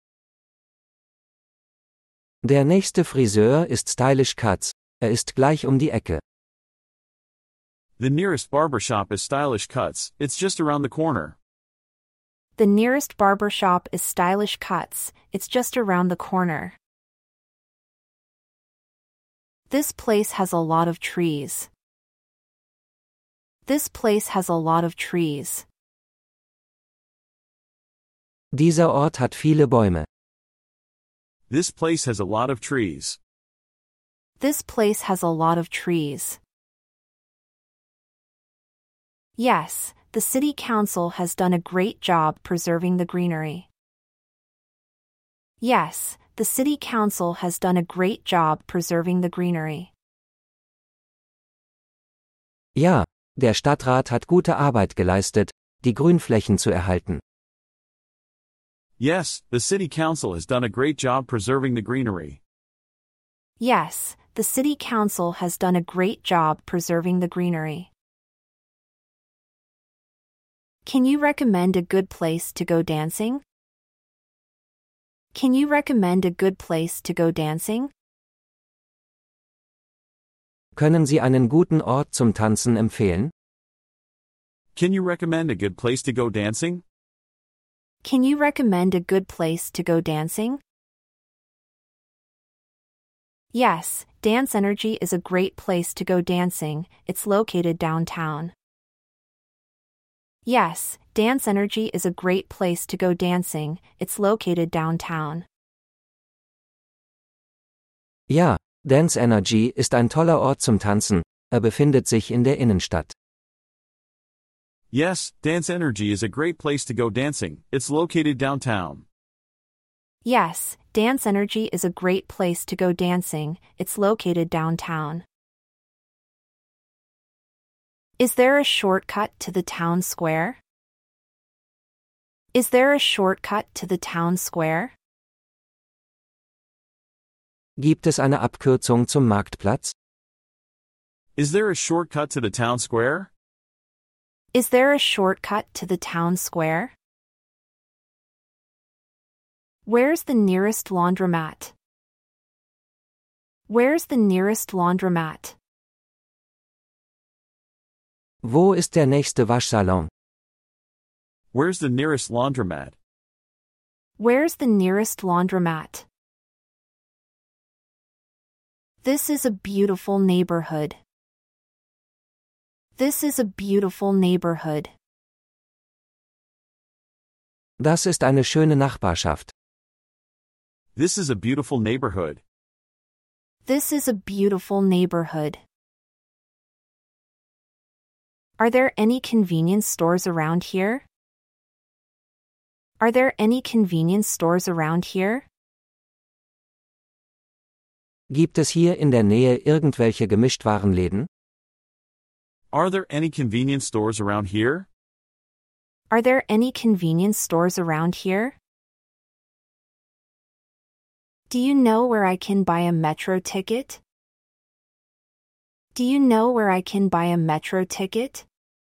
Der nächste Friseur ist Stylish Cuts, ist gleich die Ecke. The nearest barber shop is Stylish Cuts, it's just around the corner. The nearest barber shop is Stylish Cuts, it's just around the corner. This place has a lot of trees. This place has a lot of trees. Dieser Ort hat viele Bäume. This place has a lot of trees. This place has a lot of trees. Yes, the city council has done a great job preserving the greenery. Yes, the city council has done a great job preserving the greenery. Ja, der Stadtrat hat gute Arbeit geleistet, die Grünflächen zu erhalten. Yes, the city council has done a great job preserving the greenery. Yes, the city council has done a great job preserving the greenery. Can you recommend a good place to go dancing? Can you recommend a good place to go dancing? Können Sie einen guten Ort zum Tanzen empfehlen? Can you recommend a good place to go dancing? Can you recommend a good place to go dancing? Yes, Dance Energy is a great place to go dancing, it's located downtown. Yes, Dance Energy is a great place to go dancing, it's located downtown. Ja, Dance Energy ist ein toller Ort zum Tanzen, befindet sich in der Innenstadt. Yes, Dance Energy is a great place to go dancing, it's located downtown. Yes, Dance Energy is a great place to go dancing, it's located downtown. Is there a shortcut to the town square? Is there a shortcut to the town square? Gibt es eine Abkürzung zum Marktplatz? Is there a shortcut to the town square? Is there a shortcut to the town square? Where's the nearest laundromat? Where's the nearest laundromat? Wo ist der nächste Waschsalon? Where's the nearest laundromat? Where's the nearest laundromat? This is a beautiful neighborhood. This is a beautiful neighborhood. Das ist eine schöne Nachbarschaft. This is a beautiful neighborhood. This is a beautiful neighborhood. Are there any convenience stores around here? Are there any convenience stores around here? Gibt es hier in der Nähe irgendwelche Gemischtwarenläden? Are there any convenience stores around here? Are there any convenience stores around here? Do you know where I can buy a metro ticket? Do you know where I can buy a metro ticket?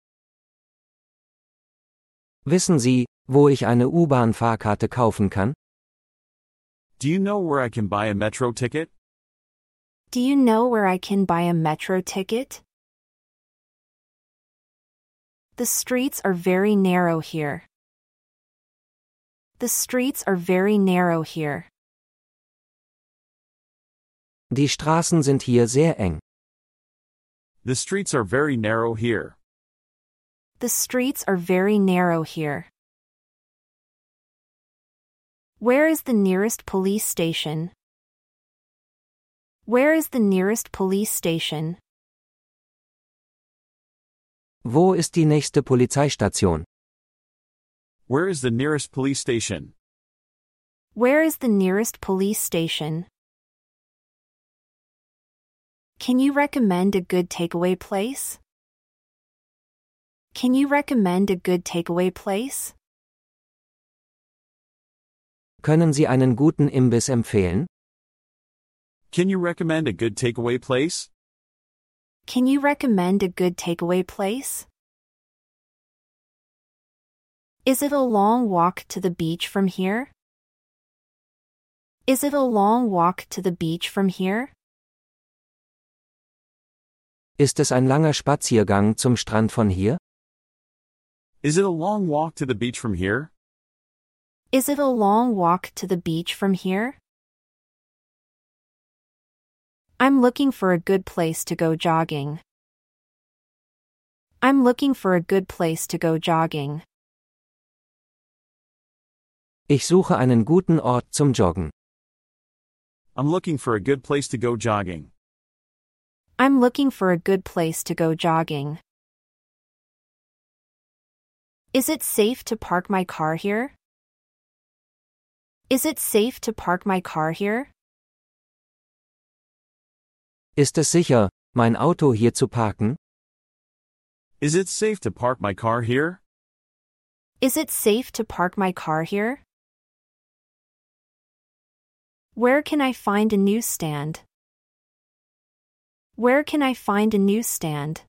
Wissen Sie, wo ich eine U-Bahn-Fahrkarte kaufen kann? Do you know where I can buy a metro ticket? Do you know where I can buy a metro ticket? The streets are very narrow here. The streets are very narrow here. Die Straßen sind hier sehr eng. The streets are very narrow here. The streets are very narrow here. Where is the nearest police station? Where is the nearest police station? Wo ist die nächste Polizeistation? Where is the nearest police station? Where is the nearest police station? Can you recommend a good takeaway place? Can you recommend a good takeaway place? Können Sie einen guten Imbiss empfehlen? Can you recommend a good takeaway place? Can you recommend a good takeaway place? Is it a long walk to the beach from here? Is it a long walk to the beach from here? Ist es ein langer Spaziergang zum Strand von hier? Is it a long walk to the beach from here? Is it a long walk to the beach from here? I'm looking for a good place to go jogging. I'm looking for a good place to go jogging. Ich suche einen guten Ort zum Joggen. I'm looking for a good place to go jogging. I'm looking for a good place to go jogging. Is it safe to park my car here? Is it safe to park my car here? Ist es sicher, mein Auto hier zu parken? Is it safe to park my car here? Is it safe to park my car here? Where can I find a newsstand? Where can I find a newsstand?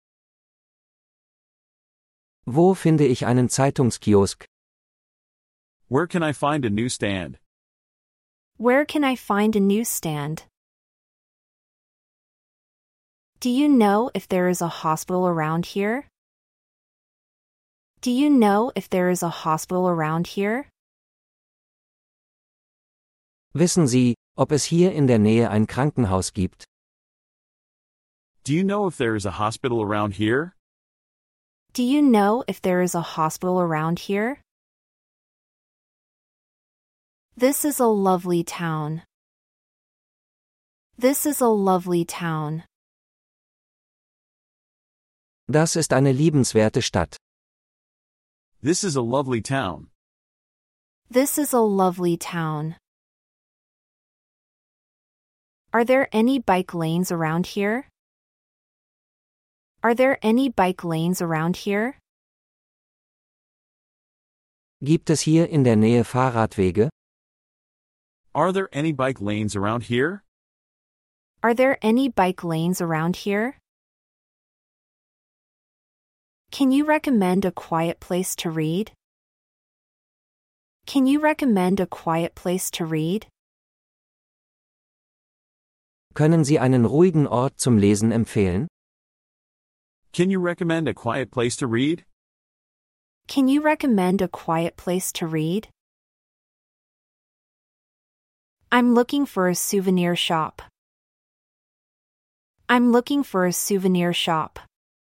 Wo finde ich einen Zeitungskiosk? Where can I find a newsstand? Where can I find a newsstand? Do you know if there is a hospital around here? Do you know if there is a hospital around here? Wissen Sie, ob es hier in der Nähe ein Krankenhaus gibt? Do you know if there is a hospital around here? Do you know if there is a hospital around here? This is a lovely town. This is a lovely town. Das ist eine liebenswerte Stadt. This is a lovely town. This is a lovely town. Are there any bike lanes around here? Are there any bike lanes around here? Gibt es hier in der Nähe Fahrradwege? Are there any bike lanes around here? Are there any bike lanes around here? Can you recommend a quiet place to read? Can you recommend a quiet place to read? Können Sie einen ruhigen Ort zum Lesen empfehlen? Can you recommend a quiet place to read? Can you recommend a quiet place to read? I'm looking for a souvenir shop. I'm looking for a souvenir shop.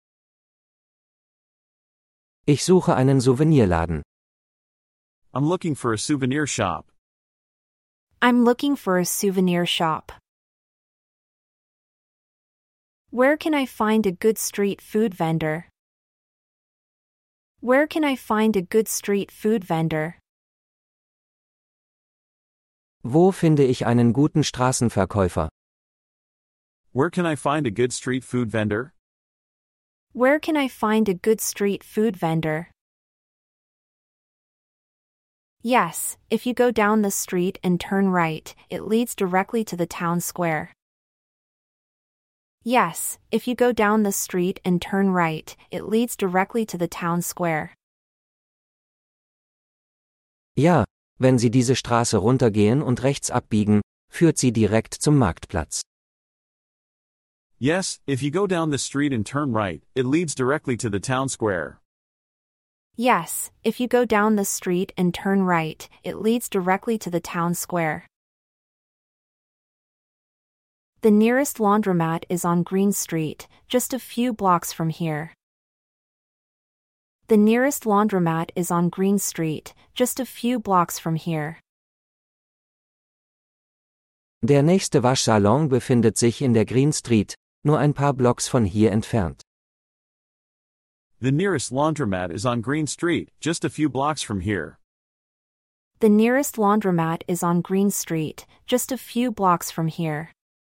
Ich suche einen Souvenirladen. I'm looking for a souvenir shop. I'm looking for a souvenir shop. Where can I find a good street food vendor? Where can I find a good street food vendor? Wo finde ich einen guten Straßenverkäufer? Where can I find a good street food vendor? Where can I find a good street food vendor? Yes, if you go down the street and turn right, it leads directly to the town square. Yes, if you go down the street and turn right, it leads directly to the town square. Ja, wenn Sie diese Straße runtergehen und rechts abbiegen, führt sie direkt zum Marktplatz. Yes, if you go down the street and turn right, it leads directly to the town square. Yes, if you go down the street and turn right, it leads directly to the town square. The nearest laundromat is on Green Street, just a few blocks from here. The nearest laundromat is on Green Street, just a few blocks from here. Der nächste Waschsalon befindet sich in der Green Street, nur ein paar Blocks von hier entfernt. The nearest laundromat is on Green Street, just a few blocks from here. The nearest laundromat is on Green Street, just a few blocks from here.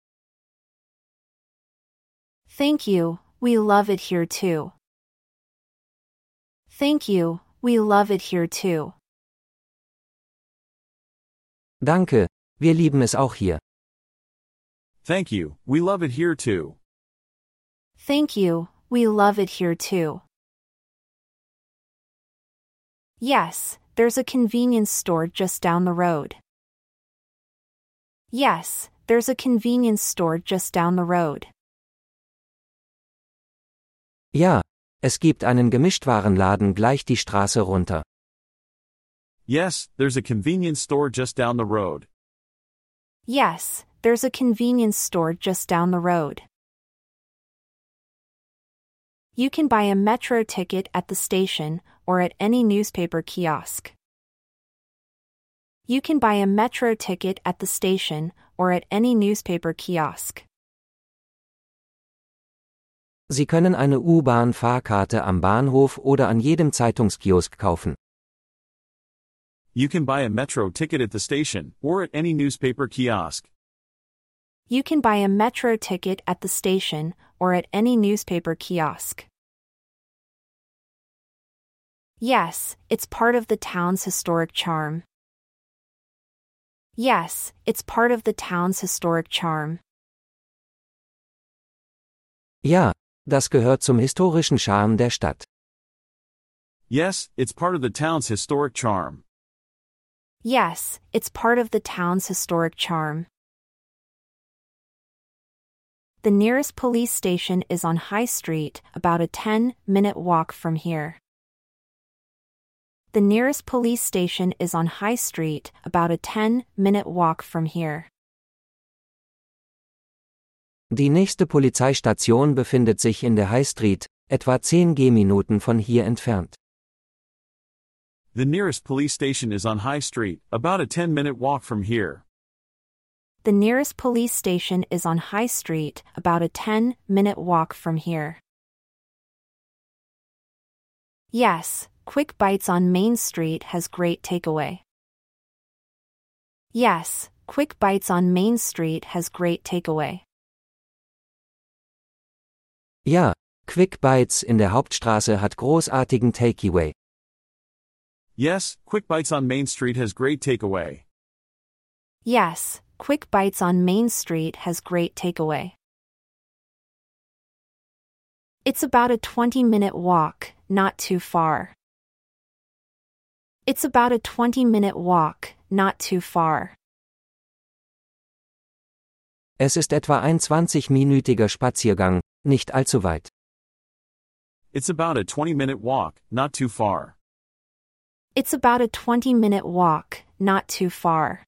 Thank you, we love it here too. Thank you, we love it here too. Danke, wir lieben es auch hier. Thank you, we love it here too. Thank you, we love it here too. Yes, there's a convenience store just down the road. Yes, there's a convenience store just down the road. Ja, es gibt einen Gemischtwarenladen gleich die Straße runter. Yes, there's a convenience store just down the road. Yes, there's a convenience store just down the road. You can buy a metro ticket at the station or at any newspaper kiosk. You can buy a metro ticket at the station or at any newspaper kiosk. Sie können eine U-Bahn-Fahrkarte am Bahnhof oder an jedem Zeitungskiosk kaufen. You can buy a metro ticket at the station or at any newspaper kiosk. You can buy a metro ticket at the station or at any newspaper kiosk. Yes, it's part of the town's historic charm. Yes, it's part of the town's historic charm. Ja, das gehört zum historischen Charme der Stadt. Yes, it's part of the town's historic charm. Yes, it's part of the town's historic charm. The nearest police station is on High Street, about a 10-minute walk from here. The nearest police station is on High Street, about a 10-minute walk from here. Die nächste Polizeistation befindet sich in der High Street, etwa 10 Gehminuten von hier entfernt. The nearest police station is on High Street, about a 10-minute walk from here. The nearest police station is on High Street, about a 10-minute walk from here. Yes, Quick Bites on Main Street has great takeaway. Yes, Quick Bites on Main Street has great takeaway. Ja, Quick Bites in der Hauptstraße hat großartigen Takeaway. Yes, Quick Bites on Main Street has great takeaway. Yes, Quick Bites on Main Street has great takeaway. It's about a 20-minute walk, not too far. It's about a 20-minute walk, not too far. Es ist etwa ein 20-minütiger Spaziergang, nicht allzu weit. It's about a 20-minute walk, not too far. It's about a 20-minute walk, not too far.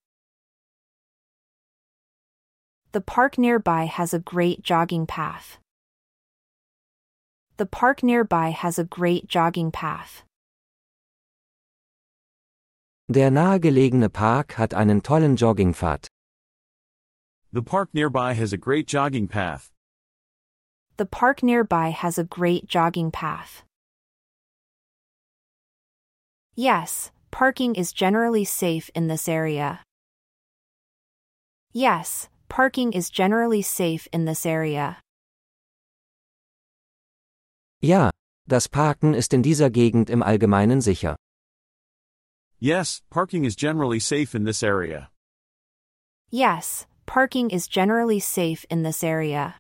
The park nearby has a great jogging path. The park nearby has a great jogging path. Der nahegelegene Park hat einen tollen Joggingpfad. The park nearby has a great jogging path. The park nearby has a great jogging path. Yes, parking is generally safe in this area. Yes, parking is generally safe in this area. Ja, das Parken ist in dieser Gegend im Allgemeinen sicher. Yes, parking is generally safe in this area. Yes, parking is generally safe in this area.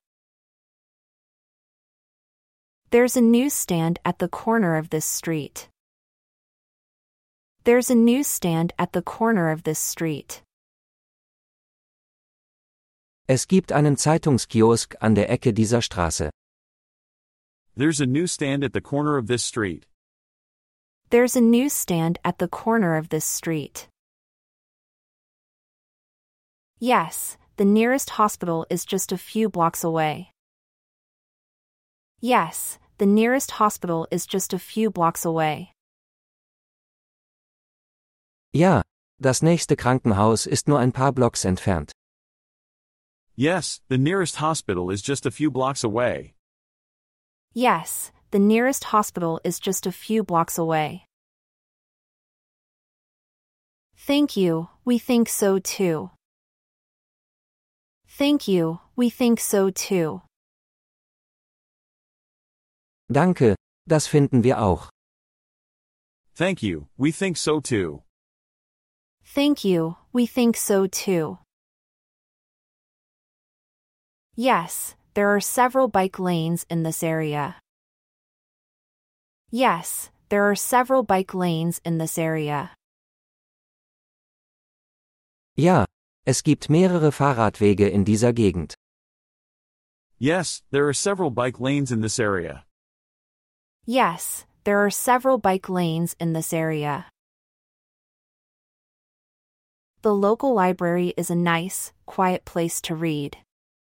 There's a newsstand at the corner of this street. There's a newsstand at the corner of this street. Es gibt einen Zeitungskiosk an der Ecke dieser Straße. There's a newsstand at the corner of this street. There's a newsstand at the corner of this street. Yes, the nearest hospital is just a few blocks away. Yes, the nearest hospital is just a few blocks away. Ja, das nächste Krankenhaus ist nur ein paar Blocks entfernt. Yes, the nearest hospital is just a few blocks away. Yes, the nearest hospital is just a few blocks away. Thank you, we think so too. Thank you, we think so too. Danke, das finden wir auch. Thank you, we think so too. Thank you, we think so too. Yes, there are several bike lanes in this area. Yes, there are several bike lanes in this area. Ja, es gibt mehrere Fahrradwege in dieser Gegend. Yes, there are several bike lanes in this area. Yes, there are several bike lanes in this area. The local library is a nice, quiet place to read.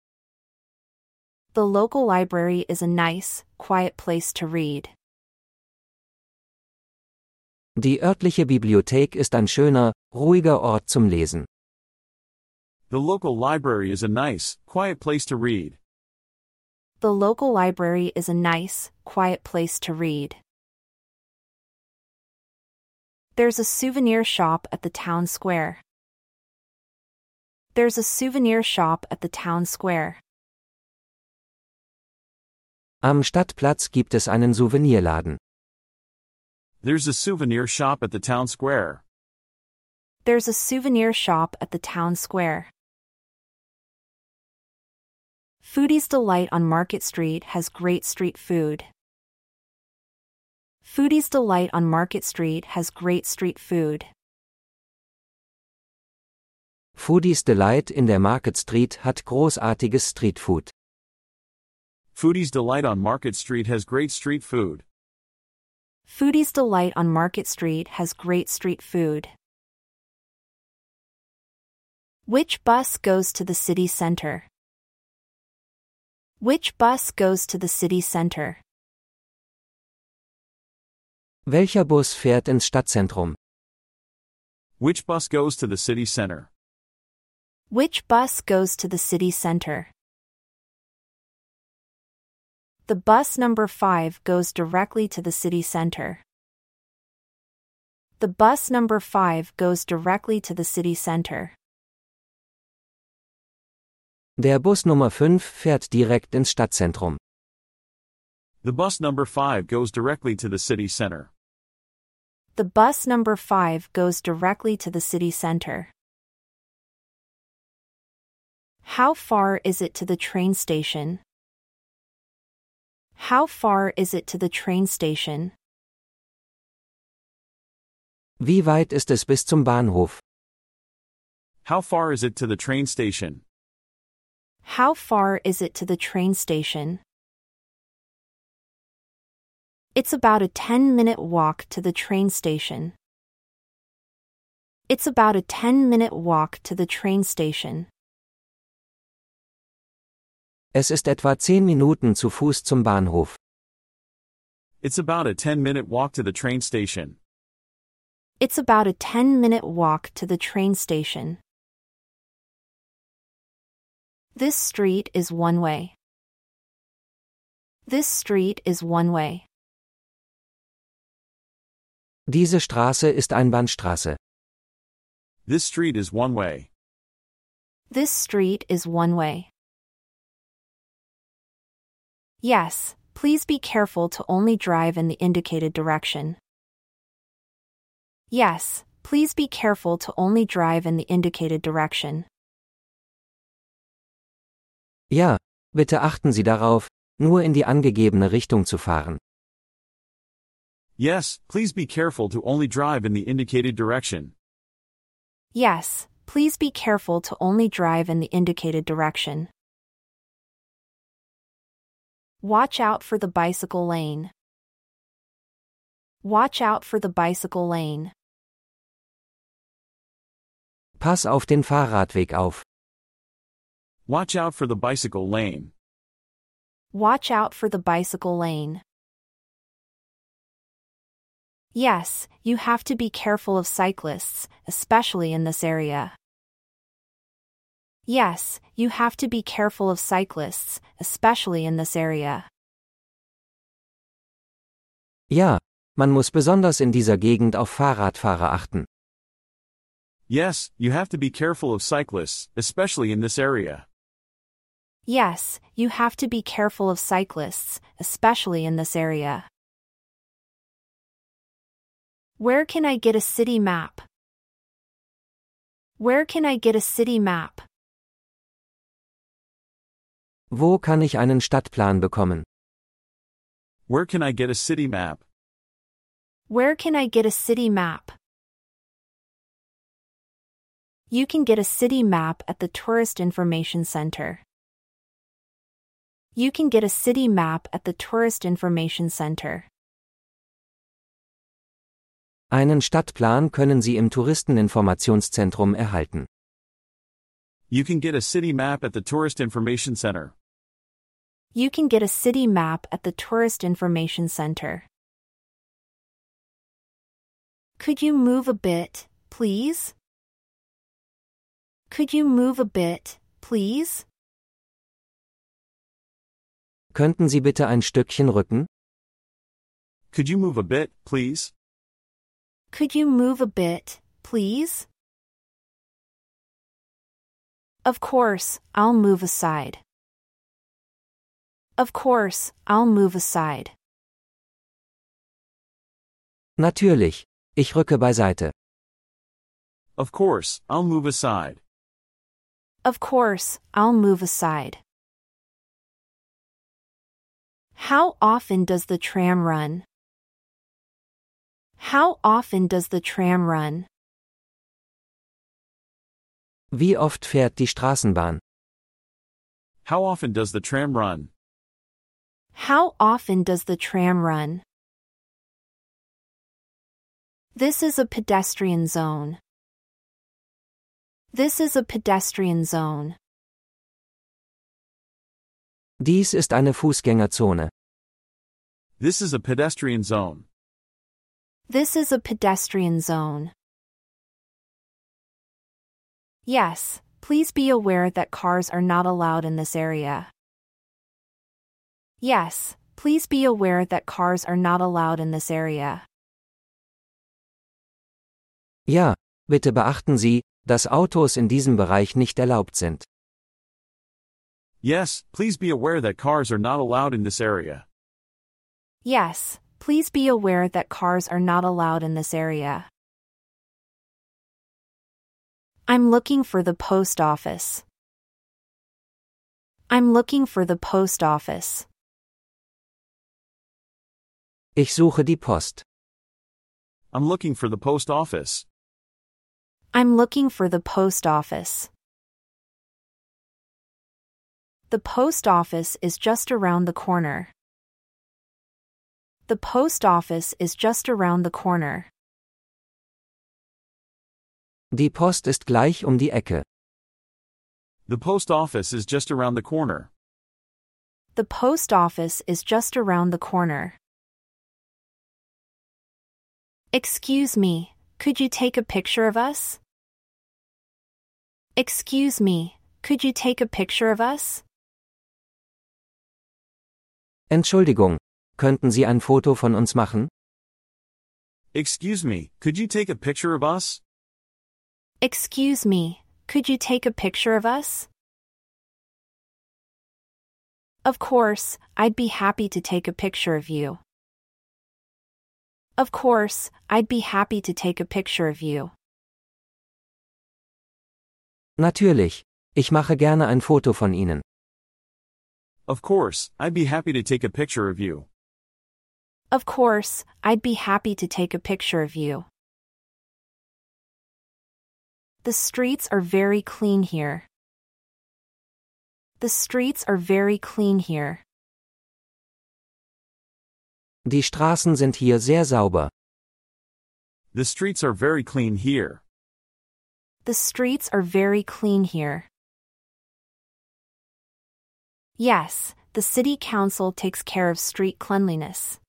The local library is a nice, quiet place to read. Die örtliche Bibliothek ist ein schöner, ruhiger Ort zum Lesen. The local library is a nice, quiet place to read. The local library is a nice, quiet place to read. There's a souvenir shop at the town square. There's a souvenir shop at the town square. Am Stadtplatz gibt es einen Souvenirladen. There's a souvenir shop at the town square. There's a souvenir shop at the town square. Foodie's Delight on Market Street has great street food. Foodie's Delight on Market Street has great street food. Foodies Delight in der Market Street hat großartiges Streetfood. Foodie's Delight on Market Street has great street food. Foodie's Delight on Market Street has great street food. Which bus goes to the city center? Which bus goes to the city center? Welcher Bus fährt ins Stadtzentrum? Which bus goes to the city center? Which bus goes to the city center? The bus number 5 goes directly to the city center. The bus number 5 goes directly to the city center. Der Bus Nummer 5 fährt direkt ins Stadtzentrum. The bus number 5 goes directly to the city center. The bus number 5 goes directly to the city center. How far is it to the train station? How far is it to the train station? Wie weit ist es bis zum Bahnhof? How far is it to the train station? How far is it to the train station? It's about a 10-minute walk to the train station. It's about a 10-minute walk to the train station. Es ist etwa 10 Minuten zu Fuß zum Bahnhof. It's about a 10-minute walk to the train station. It's about a 10-minute walk to the train station. This street is one way. This street is one way. Diese Straße ist Einbahnstraße. This street is one way. This street is one way. Yes, please be careful to only drive in the indicated direction. Yes, please be careful to only drive in the indicated direction. Ja, bitte achten Sie darauf, nur in die angegebene Richtung zu fahren. Yes, please be careful to only drive in the indicated direction. Yes, please be careful to only drive in the indicated direction. Watch out for the bicycle lane. Watch out for the bicycle lane. Pass auf den Fahrradweg auf. Watch out for the bicycle lane. Watch out for the bicycle lane. Yes, you have to be careful of cyclists, especially in this area. Yes, you have to be careful of cyclists, especially in this area. Ja, man muss besonders in dieser Gegend auf Fahrradfahrer achten. Yes, you have to be careful of cyclists, especially in this area. Yes, you have to be careful of cyclists, especially in this area. Where can I get a city map? Where can I get a city map? Wo kann ich einen Stadtplan bekommen? Where can I get a city map? Where can I get a city map? You can get a city map at the Tourist Information Center. You can get a city map at the Tourist Information Center. Einen Stadtplan können Sie im Touristeninformationszentrum erhalten. You can get a city map at the Tourist Information Center. You can get a city map at the Tourist Information Center. Could you move a bit, please? Could you move a bit, please? Könnten Sie bitte ein Stückchen rücken? Could you move a bit, please? Could you move a bit, please? Of course, I'll move aside. Of course, I'll move aside. Natürlich, ich rücke beiseite. Of course, I'll move aside. Of course, I'll move aside. How often does the tram run? How often does the tram run? Wie oft fährt die Straßenbahn? How often does the tram run? How often does the tram run? This is a pedestrian zone. This is a pedestrian zone. Dies ist eine Fußgängerzone. This is a pedestrian zone. This is a pedestrian zone. Yes, please be aware that cars are not allowed in this area. Yes, please be aware that cars are not allowed in this area. Ja, bitte beachten Sie, dass Autos in diesem Bereich nicht erlaubt sind. Yes, please be aware that cars are not allowed in this area. Yes, please be aware that cars are not allowed in this area. I'm looking for the post office. I'm looking for the post office. Ich suche die Post. I'm looking for the post office. I'm looking for the post office. The post office is just around the corner. The post office is just around the corner. Die Post ist gleich um die Ecke. The post office is just around the corner. The post office is just around the corner. Excuse me, could you take a picture of us? Excuse me, could you take a picture of us? Entschuldigung, könnten Sie ein Foto von uns machen? Excuse me, could you take a picture of us? Excuse me, could you take a picture of us? Of course, I'd be happy to take a picture of you. Of course, I'd be happy to take a picture of you. Natürlich, ich mache gerne ein Foto von Ihnen. Of course, I'd be happy to take a picture of you. Of course, I'd be happy to take a picture of you. The streets are very clean here. The streets are very clean here. Die Straßen sind hier sehr sauber. The streets are very clean here. The streets are very clean here. Yes, the city council takes care of street cleanliness.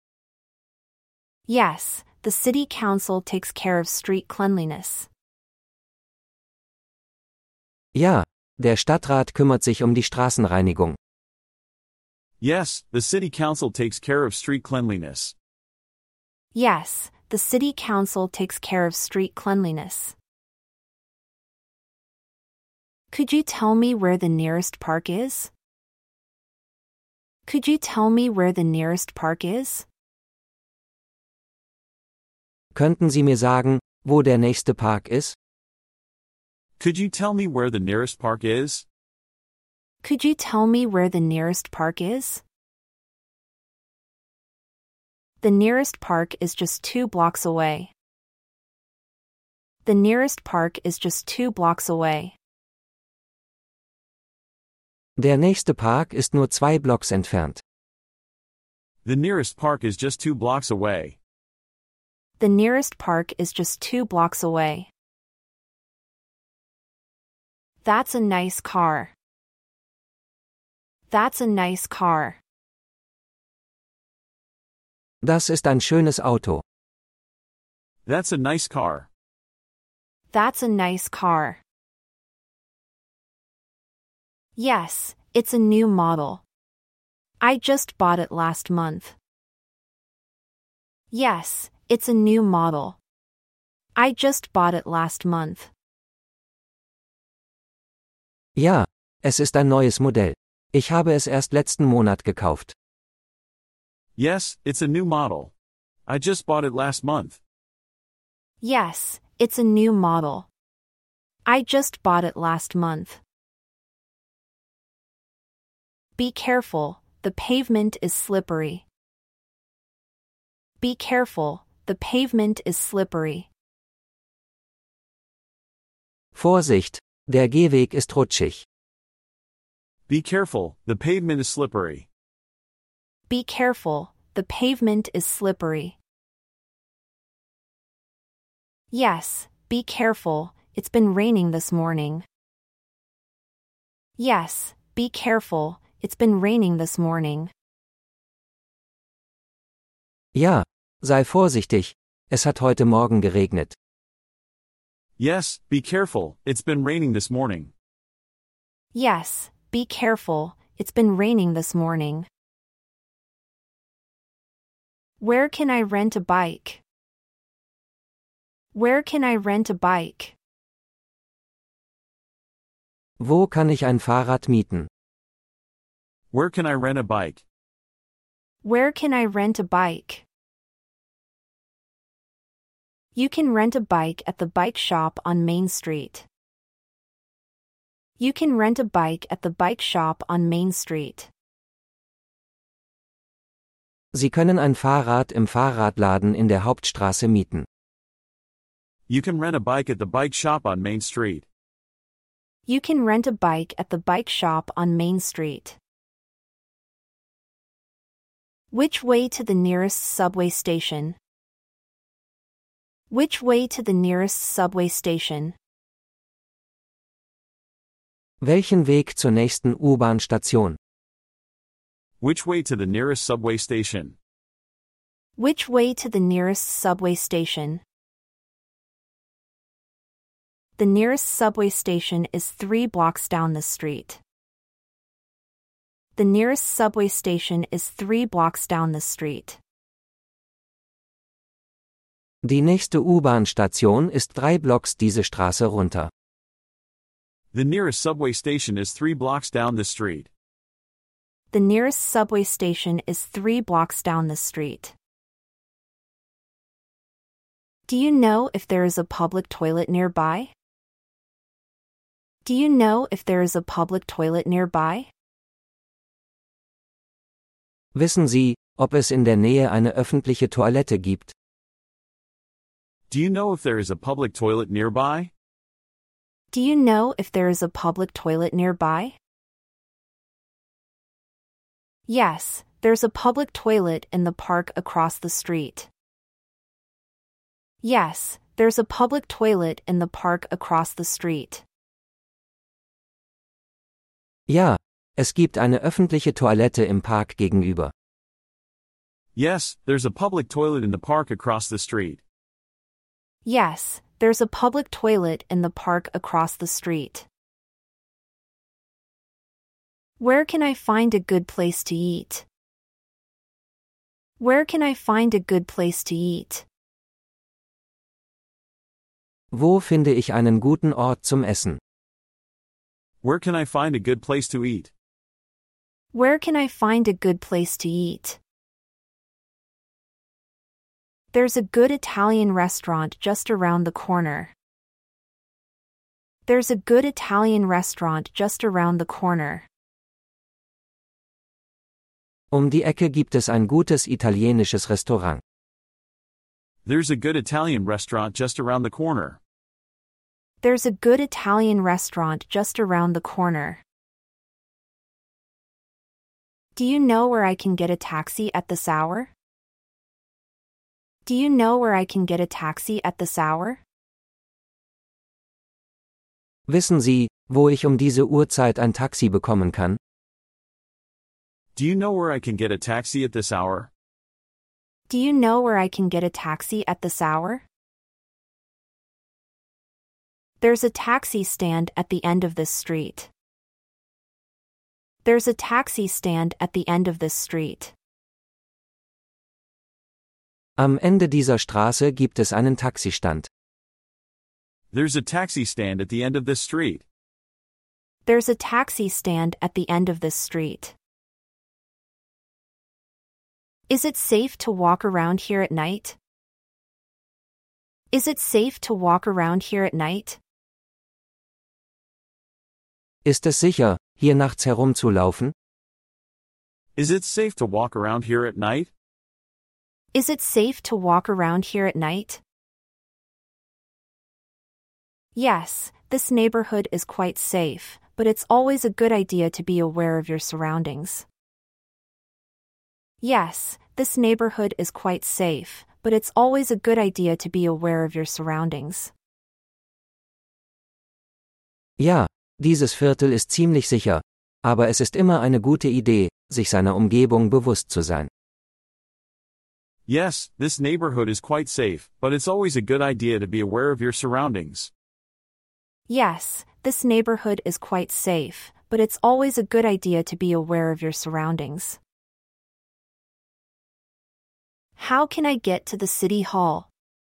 Yes, the city council takes care of street cleanliness. Ja, Der Stadtrat kümmert sich um die Straßenreinigung. Yes, the city council takes care of street cleanliness. Yes, the city council takes care of street cleanliness. Could you tell me where the nearest park is? Could you tell me where the nearest park is? Könnten Sie mir sagen, wo der nächste Park ist? Could you tell me where the nearest park is? Could you tell me where the nearest park is? The nearest park is just 2 blocks away. The nearest park is just 2 blocks away. Der nächste Park ist nur 2 Blocks entfernt. The nearest park is just 2 blocks away. The nearest park is just 2 blocks away. That's a nice car. That's a nice car. Das ist ein schönes Auto. That's a nice car. That's a nice car. Yes, it's a new model. I just bought it last month. Yes, it's a new model. I just bought it last month. Ja, es ist ein neues Modell. Ich habe es erst letzten Monat gekauft. Yes, it's a new model. I just bought it last month. Yes, it's a new model. I just bought it last month. Be careful, the pavement is slippery. Be careful, the pavement is slippery. Vorsicht, der Gehweg ist rutschig. Be careful, the pavement is slippery. Be careful, the pavement is slippery. Yes, be careful, it's been raining this morning. Yes, be careful, it's been raining this morning. Ja, sei vorsichtig, es hat heute Morgen geregnet. Yes, be careful, it's been raining this morning. Yes, be careful, it's been raining this morning. Where can I rent a bike? Where can I rent a bike? Wo kann ich ein Fahrrad mieten? Where can I rent a bike? Where can I rent a bike? You can rent a bike at the bike shop on Main Street. You can rent a bike at the bike shop on Main Street. Sie können ein Fahrrad im Fahrradladen in der Hauptstraße mieten. You can rent a bike at the bike shop on Main Street. You can rent a bike at the bike shop on Main Street. Which way to the nearest subway station? Which way to the nearest subway station? Welchen Weg zur nächsten U-Bahn-Station? Which way to the nearest subway station? Which way to the nearest subway station? The nearest subway station is 3 blocks down the street. The nearest subway station is 3 blocks down the street. Die nächste U-Bahn-Station ist 3 Blocks diese Straße runter. The nearest subway station is 3 blocks down the street. The nearest subway station is 3 blocks down the street. Do you know if there is a public toilet nearby? Do you know if there is a public toilet nearby? Wissen Sie, ob es in der Nähe eine öffentliche Toilette gibt? Do you know if there is a public toilet nearby? Do you know if there is a public toilet nearby? Yes, there's a public toilet in the park across the street. Yes, there's a public toilet in the park across the street. Ja, es gibt eine öffentliche Toilette im Park gegenüber. Yes, there's a public toilet in the park across the street. Yes, there's a public toilet in the park across the street. Where can I find a good place to eat? Where can I find a good place to eat? Wo finde ich einen guten Ort zum Essen? Where can I find a good place to eat? Where can I find a good place to eat? There's a good Italian restaurant just around the corner. There's a good Italian restaurant just around the corner. Die Ecke gibt es ein gutes italienisches Restaurant. There's a good Italian restaurant just around the corner. There's a good Italian restaurant just around the corner. Do you know where I can get a taxi at this hour? Do you know where I can get a taxi at this hour? Wissen Sie, wo ich diese Uhrzeit ein Taxi bekommen kann? Do you know where I can get a taxi at this hour? Do you know where I can get a taxi at this hour? There's a taxi stand at the end of this street. There's a taxi stand at the end of this street. Am Ende dieser Straße gibt es einen Taxistand. There's a taxi stand at the end of this street. There's a taxi stand at the end of this street. Is it safe to walk around here at night? Is it safe to walk around here at night? Ist es sicher, hier nachts herumzulaufen? Is it safe to walk around here at night? Is it safe to walk around here at night? Yes, this neighborhood is quite safe, but it's always a good idea to be aware of your surroundings. Yes, this neighborhood is quite safe, but it's always a good idea to be aware of your surroundings. Ja, dieses Viertel ist ziemlich sicher, aber es ist immer eine gute Idee, sich seiner Umgebung bewusst zu sein. Yes, this neighborhood is quite safe, but it's always a good idea to be aware of your surroundings. Yes, this neighborhood is quite safe, but it's always a good idea to be aware of your surroundings. How can I get to the city hall?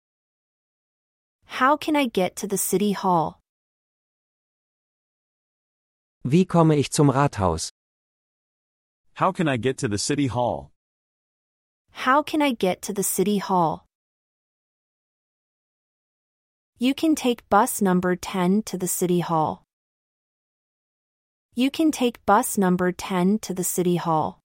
How can I get to the city hall? Wie komme ich zum Rathaus? How can I get to the city hall? How can I get to the city hall? You can take bus number 10 to the city hall. You can take bus number 10 to the city hall.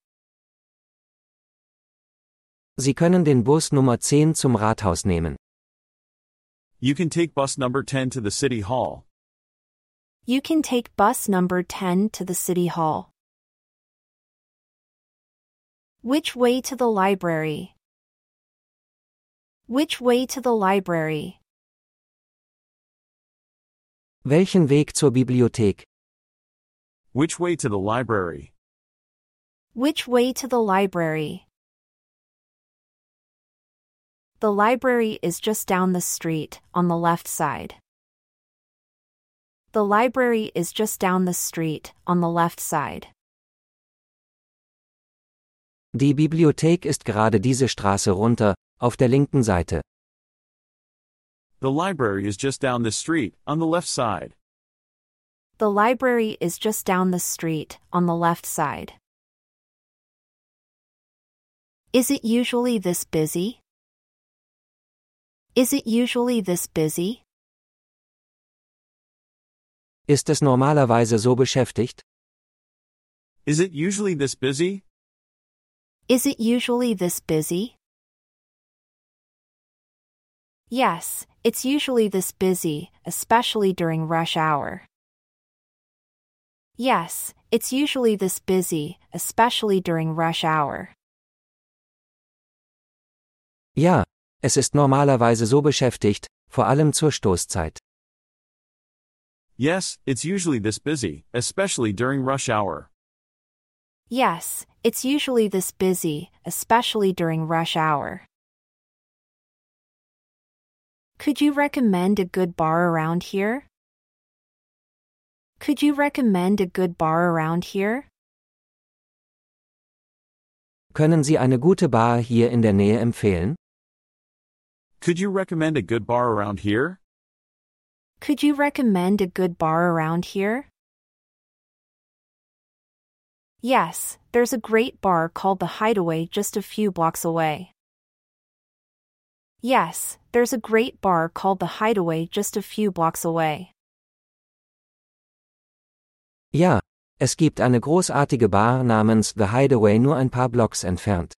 Sie können den Bus Nummer 10 zum Rathaus nehmen. You can take bus number 10 to the city hall. You can take bus number 10 to the city hall. Which way to the library? Which way to the library? Welchen Weg zur Bibliothek? Which way to the library? Which way to the library? The library is just down the street, on the left side. The library is just down the street, on the left side. Die Bibliothek ist gerade diese Straße runter, auf der linken Seite. The library is just down the street, on the left side. The library is just down the street, on the left side. Is it usually this busy? Is it usually this busy? Ist es normalerweise so beschäftigt? Is it usually this busy? Is it usually this busy? Yes, it's usually this busy, especially during rush hour. Yes, it's usually this busy, especially during rush hour. Ja, es ist normalerweise so beschäftigt, vor allem zur Stoßzeit. Yes, it's usually this busy, especially during rush hour. Yes, it's usually this busy, especially during rush hour. Could you recommend a good bar around here? Could you recommend a good bar around here? Können Sie eine gute Bar hier in der Nähe empfehlen? Could you recommend a good bar around here? Could you recommend a good bar around here? Yes, there's a great bar called The Hideaway just a few blocks away. Yes, there's a great bar called The Hideaway just a few blocks away. Ja, es gibt eine großartige Bar namens The Hideaway nur ein paar Blocks entfernt.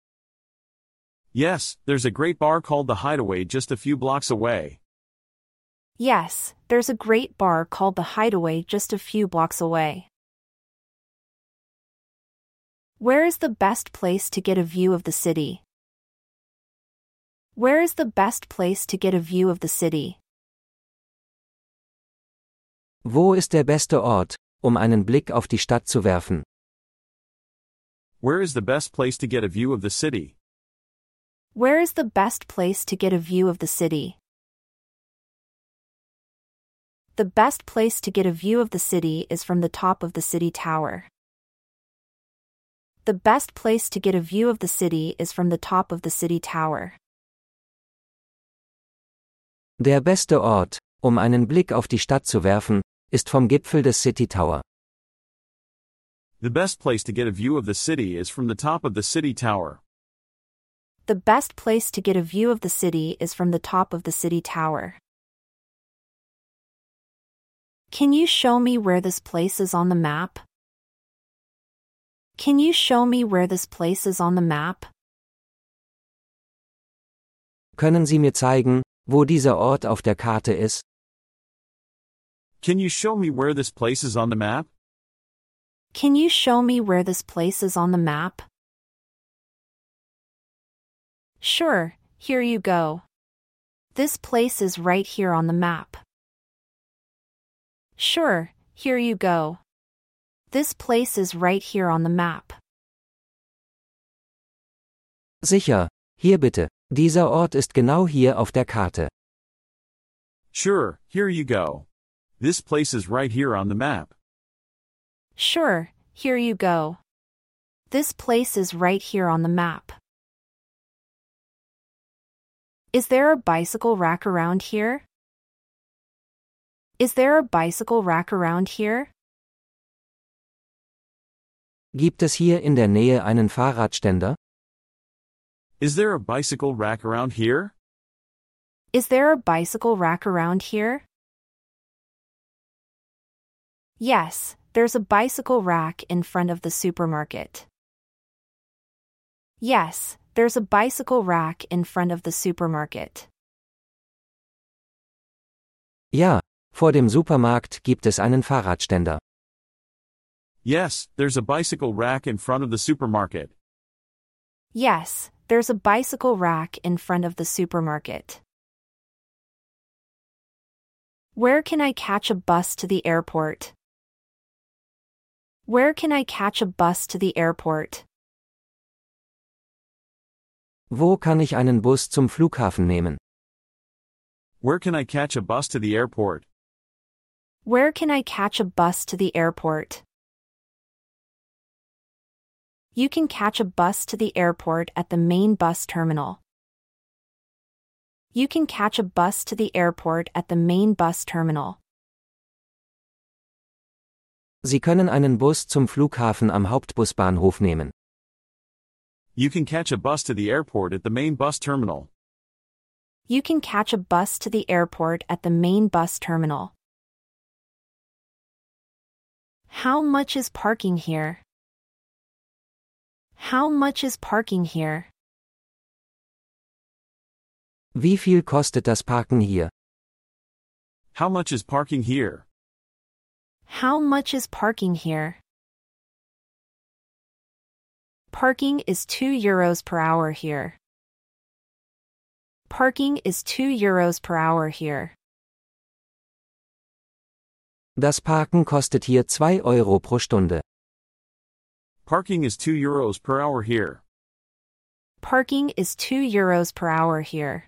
Yes, there's a great bar called The Hideaway just a few blocks away. Yes, there's a great bar called The Hideaway just a few blocks away. Where is the best place to get a view of the city? Where is the best place to get a view of the city? Wo ist der beste Ort, einen Blick auf die Stadt zu werfen? Where is the best place to get a view of the city? Where is the best place to get a view of the city? The best place to get a view of the city is from the top of the city tower. The best place to get a view of the city is from the top of the city tower. Der beste Ort, einen Blick auf die Stadt zu werfen, ist vom Gipfel des City Tower. The best place to get a view of the city is from the top of the city tower. The best place to get a view of the city is from the top of the city tower. Can you show me where this place is on the map? Can you show me where this place is on the map? Können Sie mir zeigen, wo dieser Ort auf der Karte ist? Can you show me where this place is on the map? Can you show me where this place is on the map? Sure, here you go. This place is right here on the map. Sure, here you go. This place is right here on the map. Sicher, hier bitte. Dieser Ort ist genau hier auf der Karte. Sure, here you go. This place is right here on the map. Sure, here you go. This place is right here on the map. Is there a bicycle rack around here? Is there a bicycle rack around here? Gibt es hier in der Nähe einen Fahrradständer? Is there a bicycle rack around here? Is there a bicycle rack around here? Yes, there's a bicycle rack in front of the supermarket. Yes, there's a bicycle rack in front of the supermarket. Ja, vor dem Supermarkt gibt es einen Fahrradständer. Yes, there's a bicycle rack in front of the supermarket. Yes, there's a bicycle rack in front of the supermarket. Where can I catch a bus to the airport? Where can I catch a bus to the airport? Wo kann ich einen Bus zum Flughafen nehmen? Where can I catch a bus to the airport? Where can I catch a bus to the airport? You can catch a bus to the airport at the main bus terminal. You can catch a bus to the airport at the main bus terminal. Sie können einen Bus zum Flughafen am Hauptbusbahnhof nehmen. You can catch a bus to the airport at the main bus terminal. You can catch a bus to the airport at the main bus terminal. How much is parking here? How much is parking here? Wie viel kostet das Parken hier? How much is parking here? How much is parking here? Parking is €2 per hour here. Parking is €2 per hour here. Das Parken kostet hier 2 Euro pro Stunde. Parking is €2 per hour here. Parking is €2 per hour here.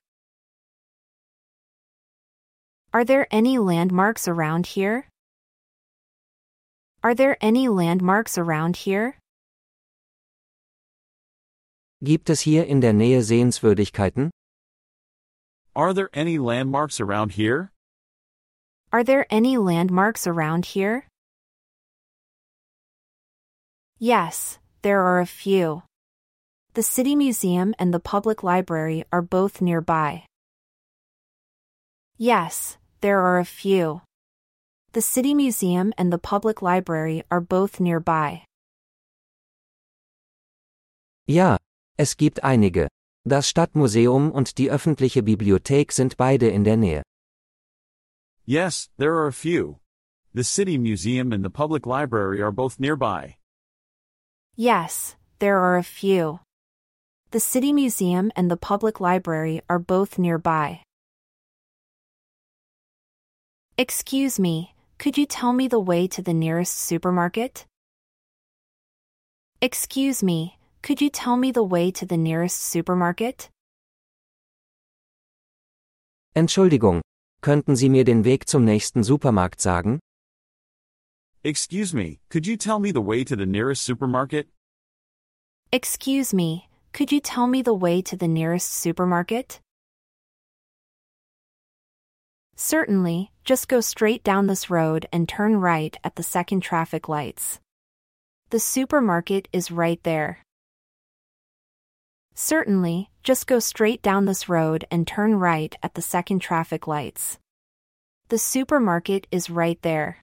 Are there any landmarks around here? Are there any landmarks around here? Gibt es hier in der Nähe Sehenswürdigkeiten? Are there any landmarks around here? Are there any landmarks around here? Yes, there are a few. The City Museum and the Public Library are both nearby. Yes, there are a few. The City Museum and the Public Library are both nearby. Ja, es gibt einige. Das Stadtmuseum und die öffentliche Bibliothek sind beide in der Nähe. Yes, there are a few. The City Museum and the Public Library are both nearby. Yes, there are a few. The City Museum and the Public Library are both nearby. Excuse me, could you tell me the way to the nearest supermarket? Excuse me, could you tell me the way to the nearest supermarket? Entschuldigung, könnten Sie mir den Weg zum nächsten Supermarkt sagen? Excuse me, could you tell me the way to the nearest supermarket? Excuse me, could you tell me the way to the nearest supermarket? Certainly, just go straight down this road and turn right at the second traffic lights. The supermarket is right there. Certainly, just go straight down this road and turn right at the second traffic lights. The supermarket is right there.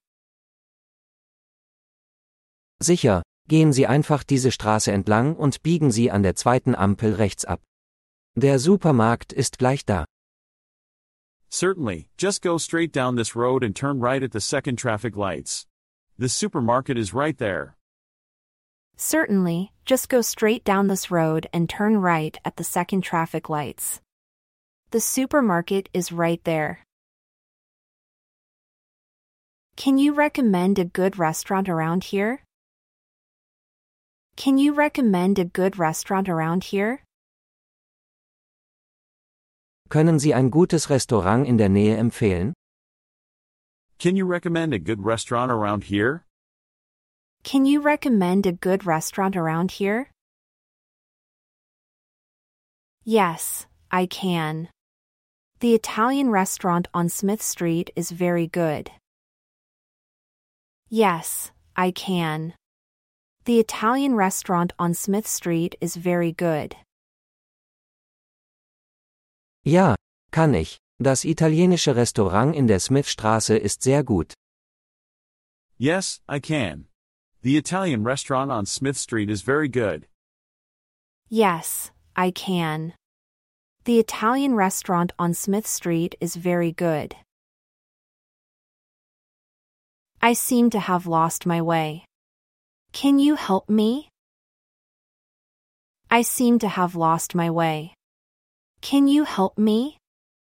Sicher, gehen Sie einfach diese Straße entlang und biegen Sie an der zweiten Ampel rechts ab. Der Supermarkt ist gleich da. Certainly, just go straight down this road and turn right at the second traffic lights. The supermarket is right there. Certainly, just go straight down this road and turn right at the second traffic lights. The supermarket is right there. Can you recommend a good restaurant around here? Can you recommend a good restaurant around here? Können Sie ein gutes Restaurant in der Nähe empfehlen? Can you recommend a good restaurant around here? Can you recommend a good restaurant around here? Yes, I can. The Italian restaurant on Smith Street is very good. Yes, I can. The Italian restaurant on Smith Street is very good. Ja, kann ich. Das italienische Restaurant in der Smithstraße ist sehr gut. Yes, I can. The Italian restaurant on Smith Street is very good. Yes, I can. The Italian restaurant on Smith Street is very good. I seem to have lost my way. Can you help me? I seem to have lost my way. Can you help me?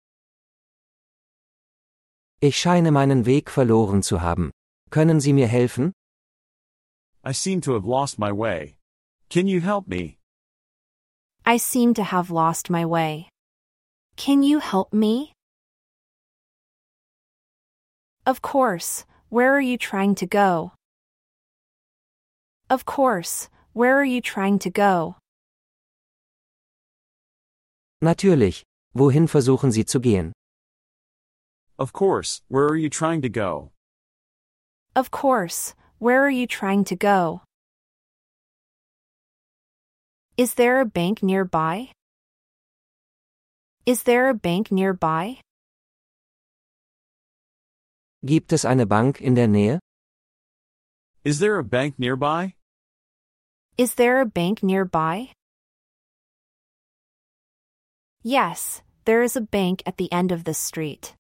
Ich scheine meinen Weg verloren zu haben. Können Sie mir helfen? I seem to have lost my way. Can you help me? I seem to have lost my way. Can you help me? Of course, where are you trying to go? Of course, where are you trying to go? Natürlich. Wohin versuchen Sie zu gehen? Of course, where are you trying to go? Of course, where are you trying to go? Is there a bank nearby? Is there a bank nearby? Gibt es eine Bank in der Nähe? Is there a bank nearby? Is there a bank nearby? Yes, there is a bank at the end of this street.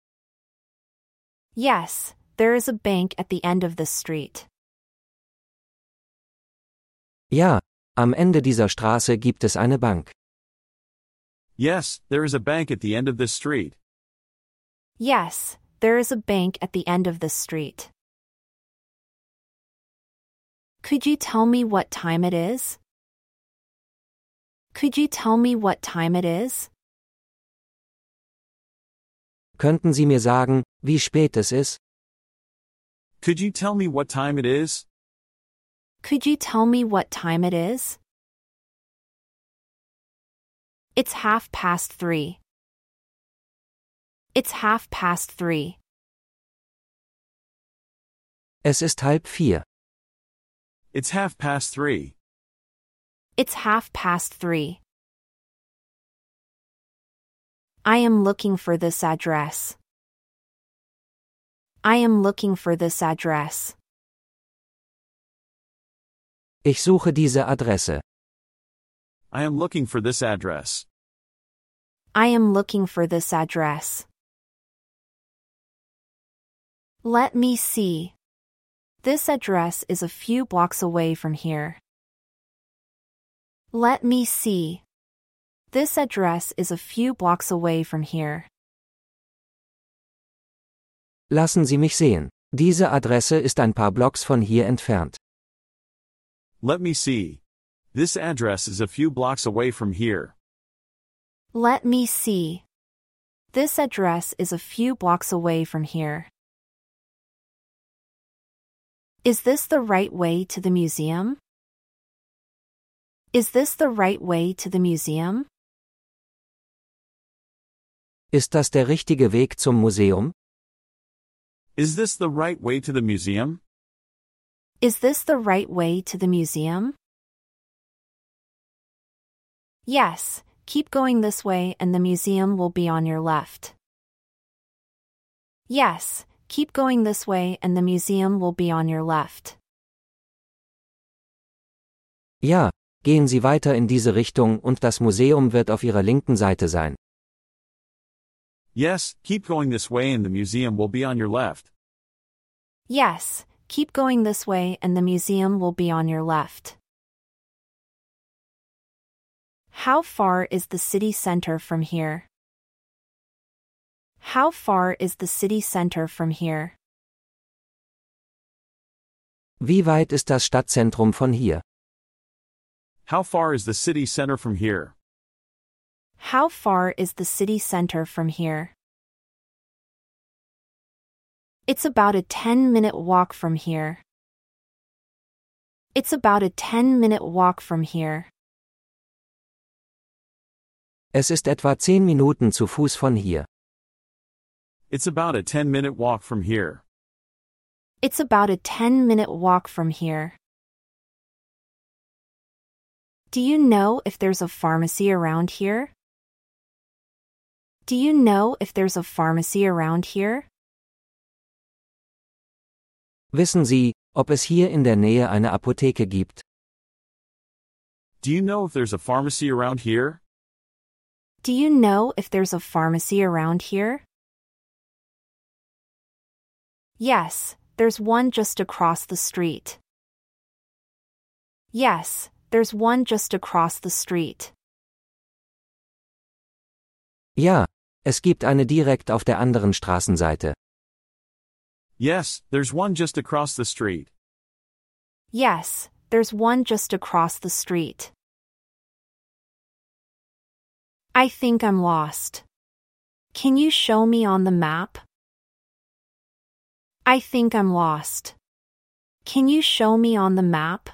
Yes, there is a bank at the end of this street. Ja, am Ende dieser Straße gibt es eine Bank. Yes, there is a bank at the end of this street. Yes, there is a bank at the end of this street. Could you tell me what time it is? Could you tell me what time it is? Könnten Sie mir sagen, wie spät es ist? Could you tell me what time it is? Could you tell me what time it is? It's 3:30. It's 3:30. Es ist 3:30. It's 3:30. It's 3:30. I am looking for this address. I am looking for this address. Ich suche diese Adresse. I am looking for this address. I am looking for this address. Let me see. This address is a few blocks away from here. Let me see. This address is a few blocks away from here. Lassen Sie mich sehen. Diese Adresse ist ein paar Blocks von hier entfernt. Let me see. This address is a few blocks away from here. Let me see. This address is a few blocks away from here. Is this the right way to the museum? Is this the right way to the museum? Ist das der richtige Weg zum Museum? Is this the right way to the museum? Is this the right way to the museum? Yes, keep going this way and the museum will be on your left. Yes, keep going this way and the museum will be on your left. Ja, gehen Sie weiter in diese Richtung und das Museum wird auf Ihrer linken Seite sein. Yes, keep going this way and the museum will be on your left. Yes, keep going this way and the museum will be on your left. How far is the city center from here? How far is the city center from here? Wie weit ist das Stadtzentrum von hier? How far is the city center from here? How far is the city center from here? It's about a 10-minute walk from here. It's about a 10-minute walk from here. Es ist etwa 10 Minuten zu Fuß von hier. It's about a 10-minute walk from here. It's about a 10-minute walk from here. Do you know if there's a pharmacy around here? Do you know if there's a pharmacy around here? Wissen Sie, ob es hier in der Nähe eine Apotheke gibt? Do you know if there's a pharmacy around here? Do you know if there's a pharmacy around here? Yes, there's one just across the street. Yes, there's one just across the street. Ja, es gibt eine direkt auf der anderen Straßenseite. Yes, there's one just across the street. Yes, there's one just across the street. I think I'm lost. Can you show me on the map? I think I'm lost. Can you show me on the map?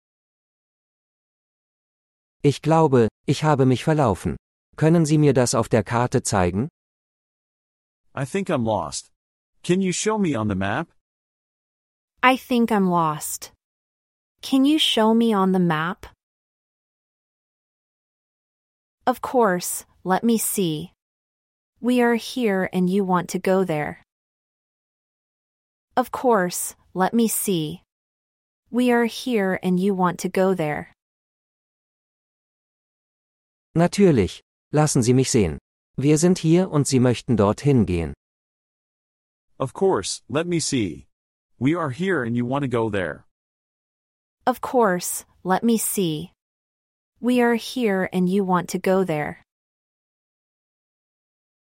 Ich glaube, ich habe mich verlaufen. Können Sie mir das auf der Karte zeigen? I think I'm lost. Can you show me on the map? I think I'm lost. Can you show me on the map? Of course, let me see. We are here and you want to go there. Of course, let me see. We are here and you want to go there. Natürlich. Lassen Sie mich sehen. Wir sind hier und Sie möchten dorthin gehen. Of course, let me see. We are here and you want to go there. Of course, let me see. We are here and you want to go there.